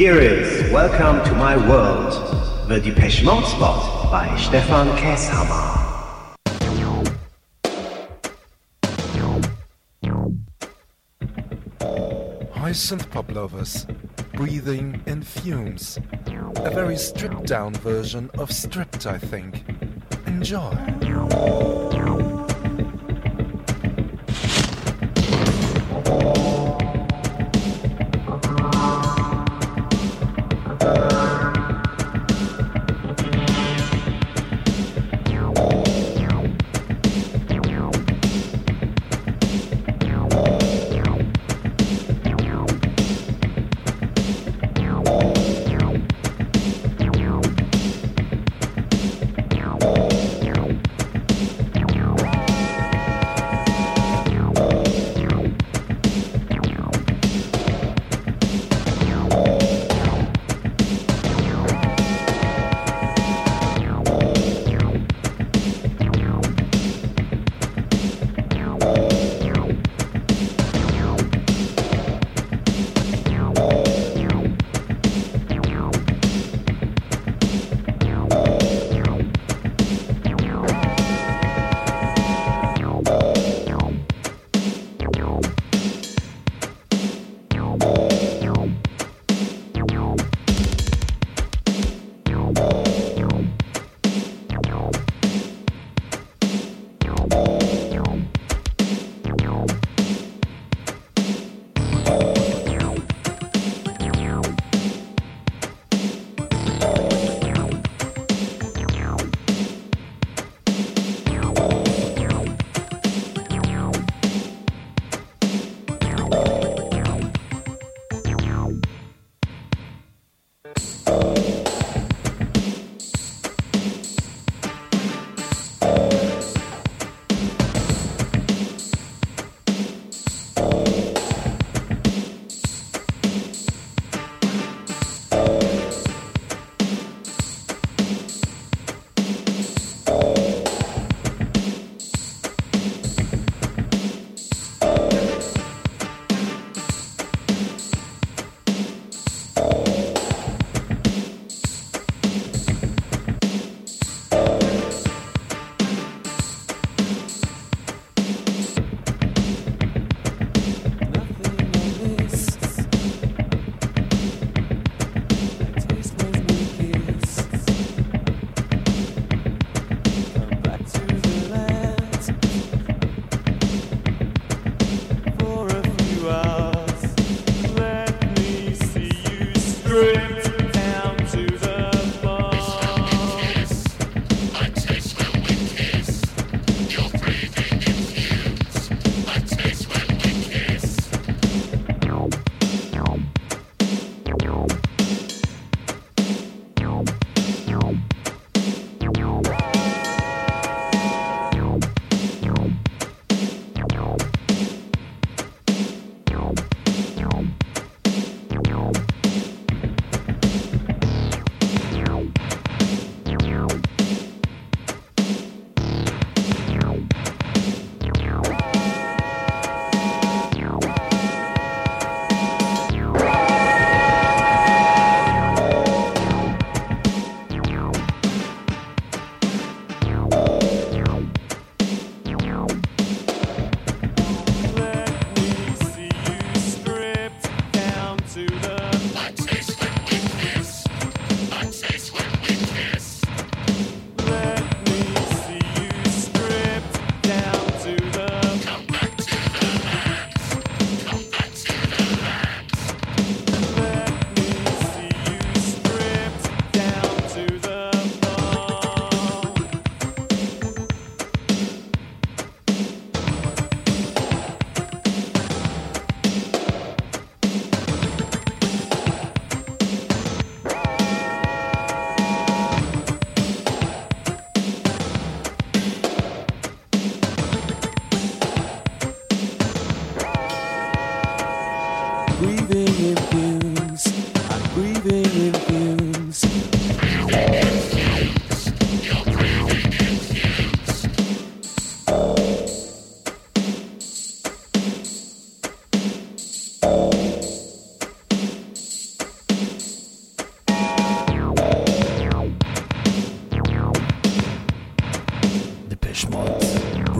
Here is Welcome to My World, the Depeche Mode spot by Stefan Käshammer. Hi synth-pop lovers, breathing in fumes. A very stripped-down version of Stripped, I think. Enjoy. Meow.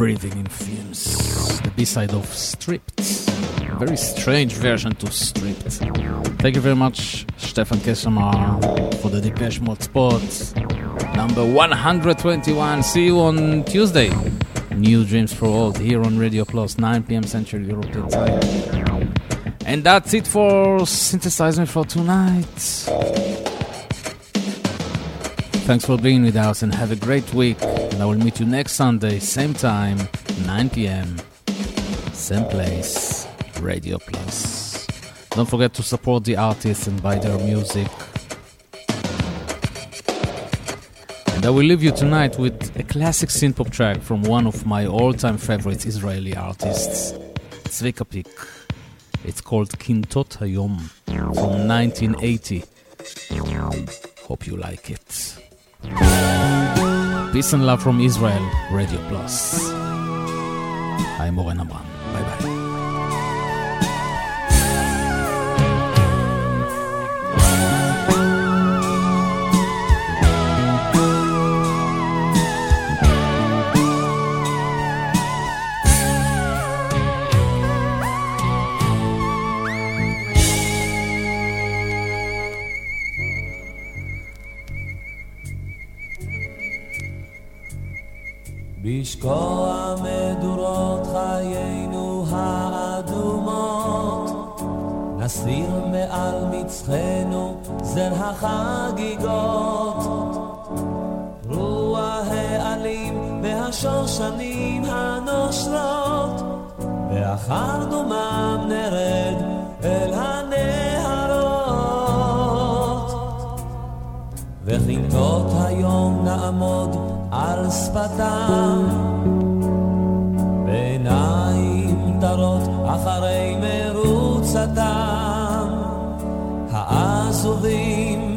Breathing in Fumes, the B-side of Stripped. A very strange version to Stripped. Thank you very much, Stefan Keshamar, for the Depeche Mode spot. Number one hundred twenty-one. See you on Tuesday. New Dreams for Old here on Radio Plus, nine p.m. Central European Time. And that's it for Synthesize Me for tonight. Thanks for being with us and have a great week. And I will meet you next Sunday, same time, nine p.m. Same place, Radio Plus. Don't forget to support the artists and buy their music. And I will leave you tonight with a classic synth-pop track from one of my all-time favorite Israeli artists, Zvika Pik. It's called Kintot Hayom from nineteen eighty. Hope you like it. Peace and love from Israel, Radio Plus. I'm Oren Amram. Bye bye. בשקוע מדורות חיינו האדומות, נסיר מעל מצחנו זר החגיגות, רוח העלים והשושנים הנושרות, ואחר דומם נרד אל הנהרות, וכינתות היום נעמוד על שפתם, בעיניים תרות אחרי מרוצתם, העזובים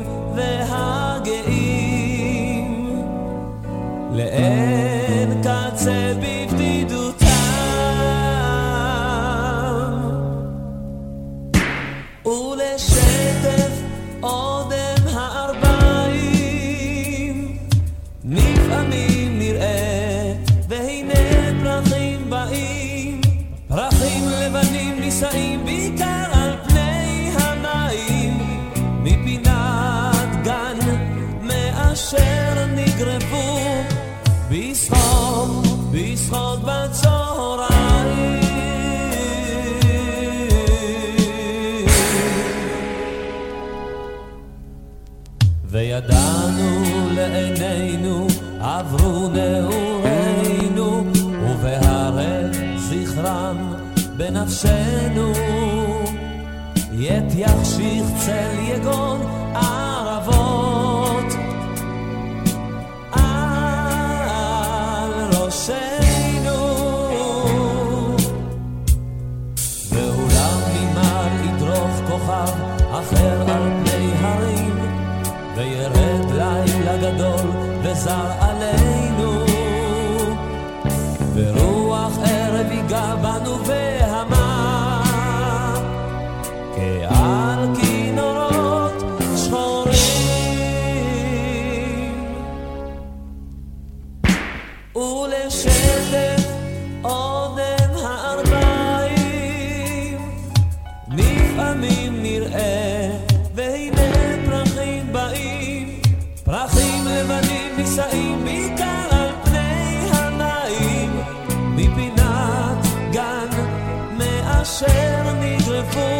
והגאים, לאין קצה בבדידותם, ולשטף אודם הארבעים, לפעמים נראה והנה פרחים באים, פרחים לבנים נישאים בעיקר על פני המים, מפינת גן מאשר נגרבו בשחוק בשחוק בצהריים, וידענו לעינינו עברו נעורינו, ובהרי זכרם בנפשנו, ית יחשיך צל יגון ערבות על ראשנו, ואולם ממעל ידרוך כוכב אחר על פני הרים, וירד לילה גדול וזר עלינו, ורוח ערב ייגע בנו והמה, כעל כינורות שחורים, ולשטף אודם הארבעים, לפעמים נראה והנה פרחים באים, פרחים לבנים נישאים בעיקר על פני המים, מפינת גן מאשר נגרפו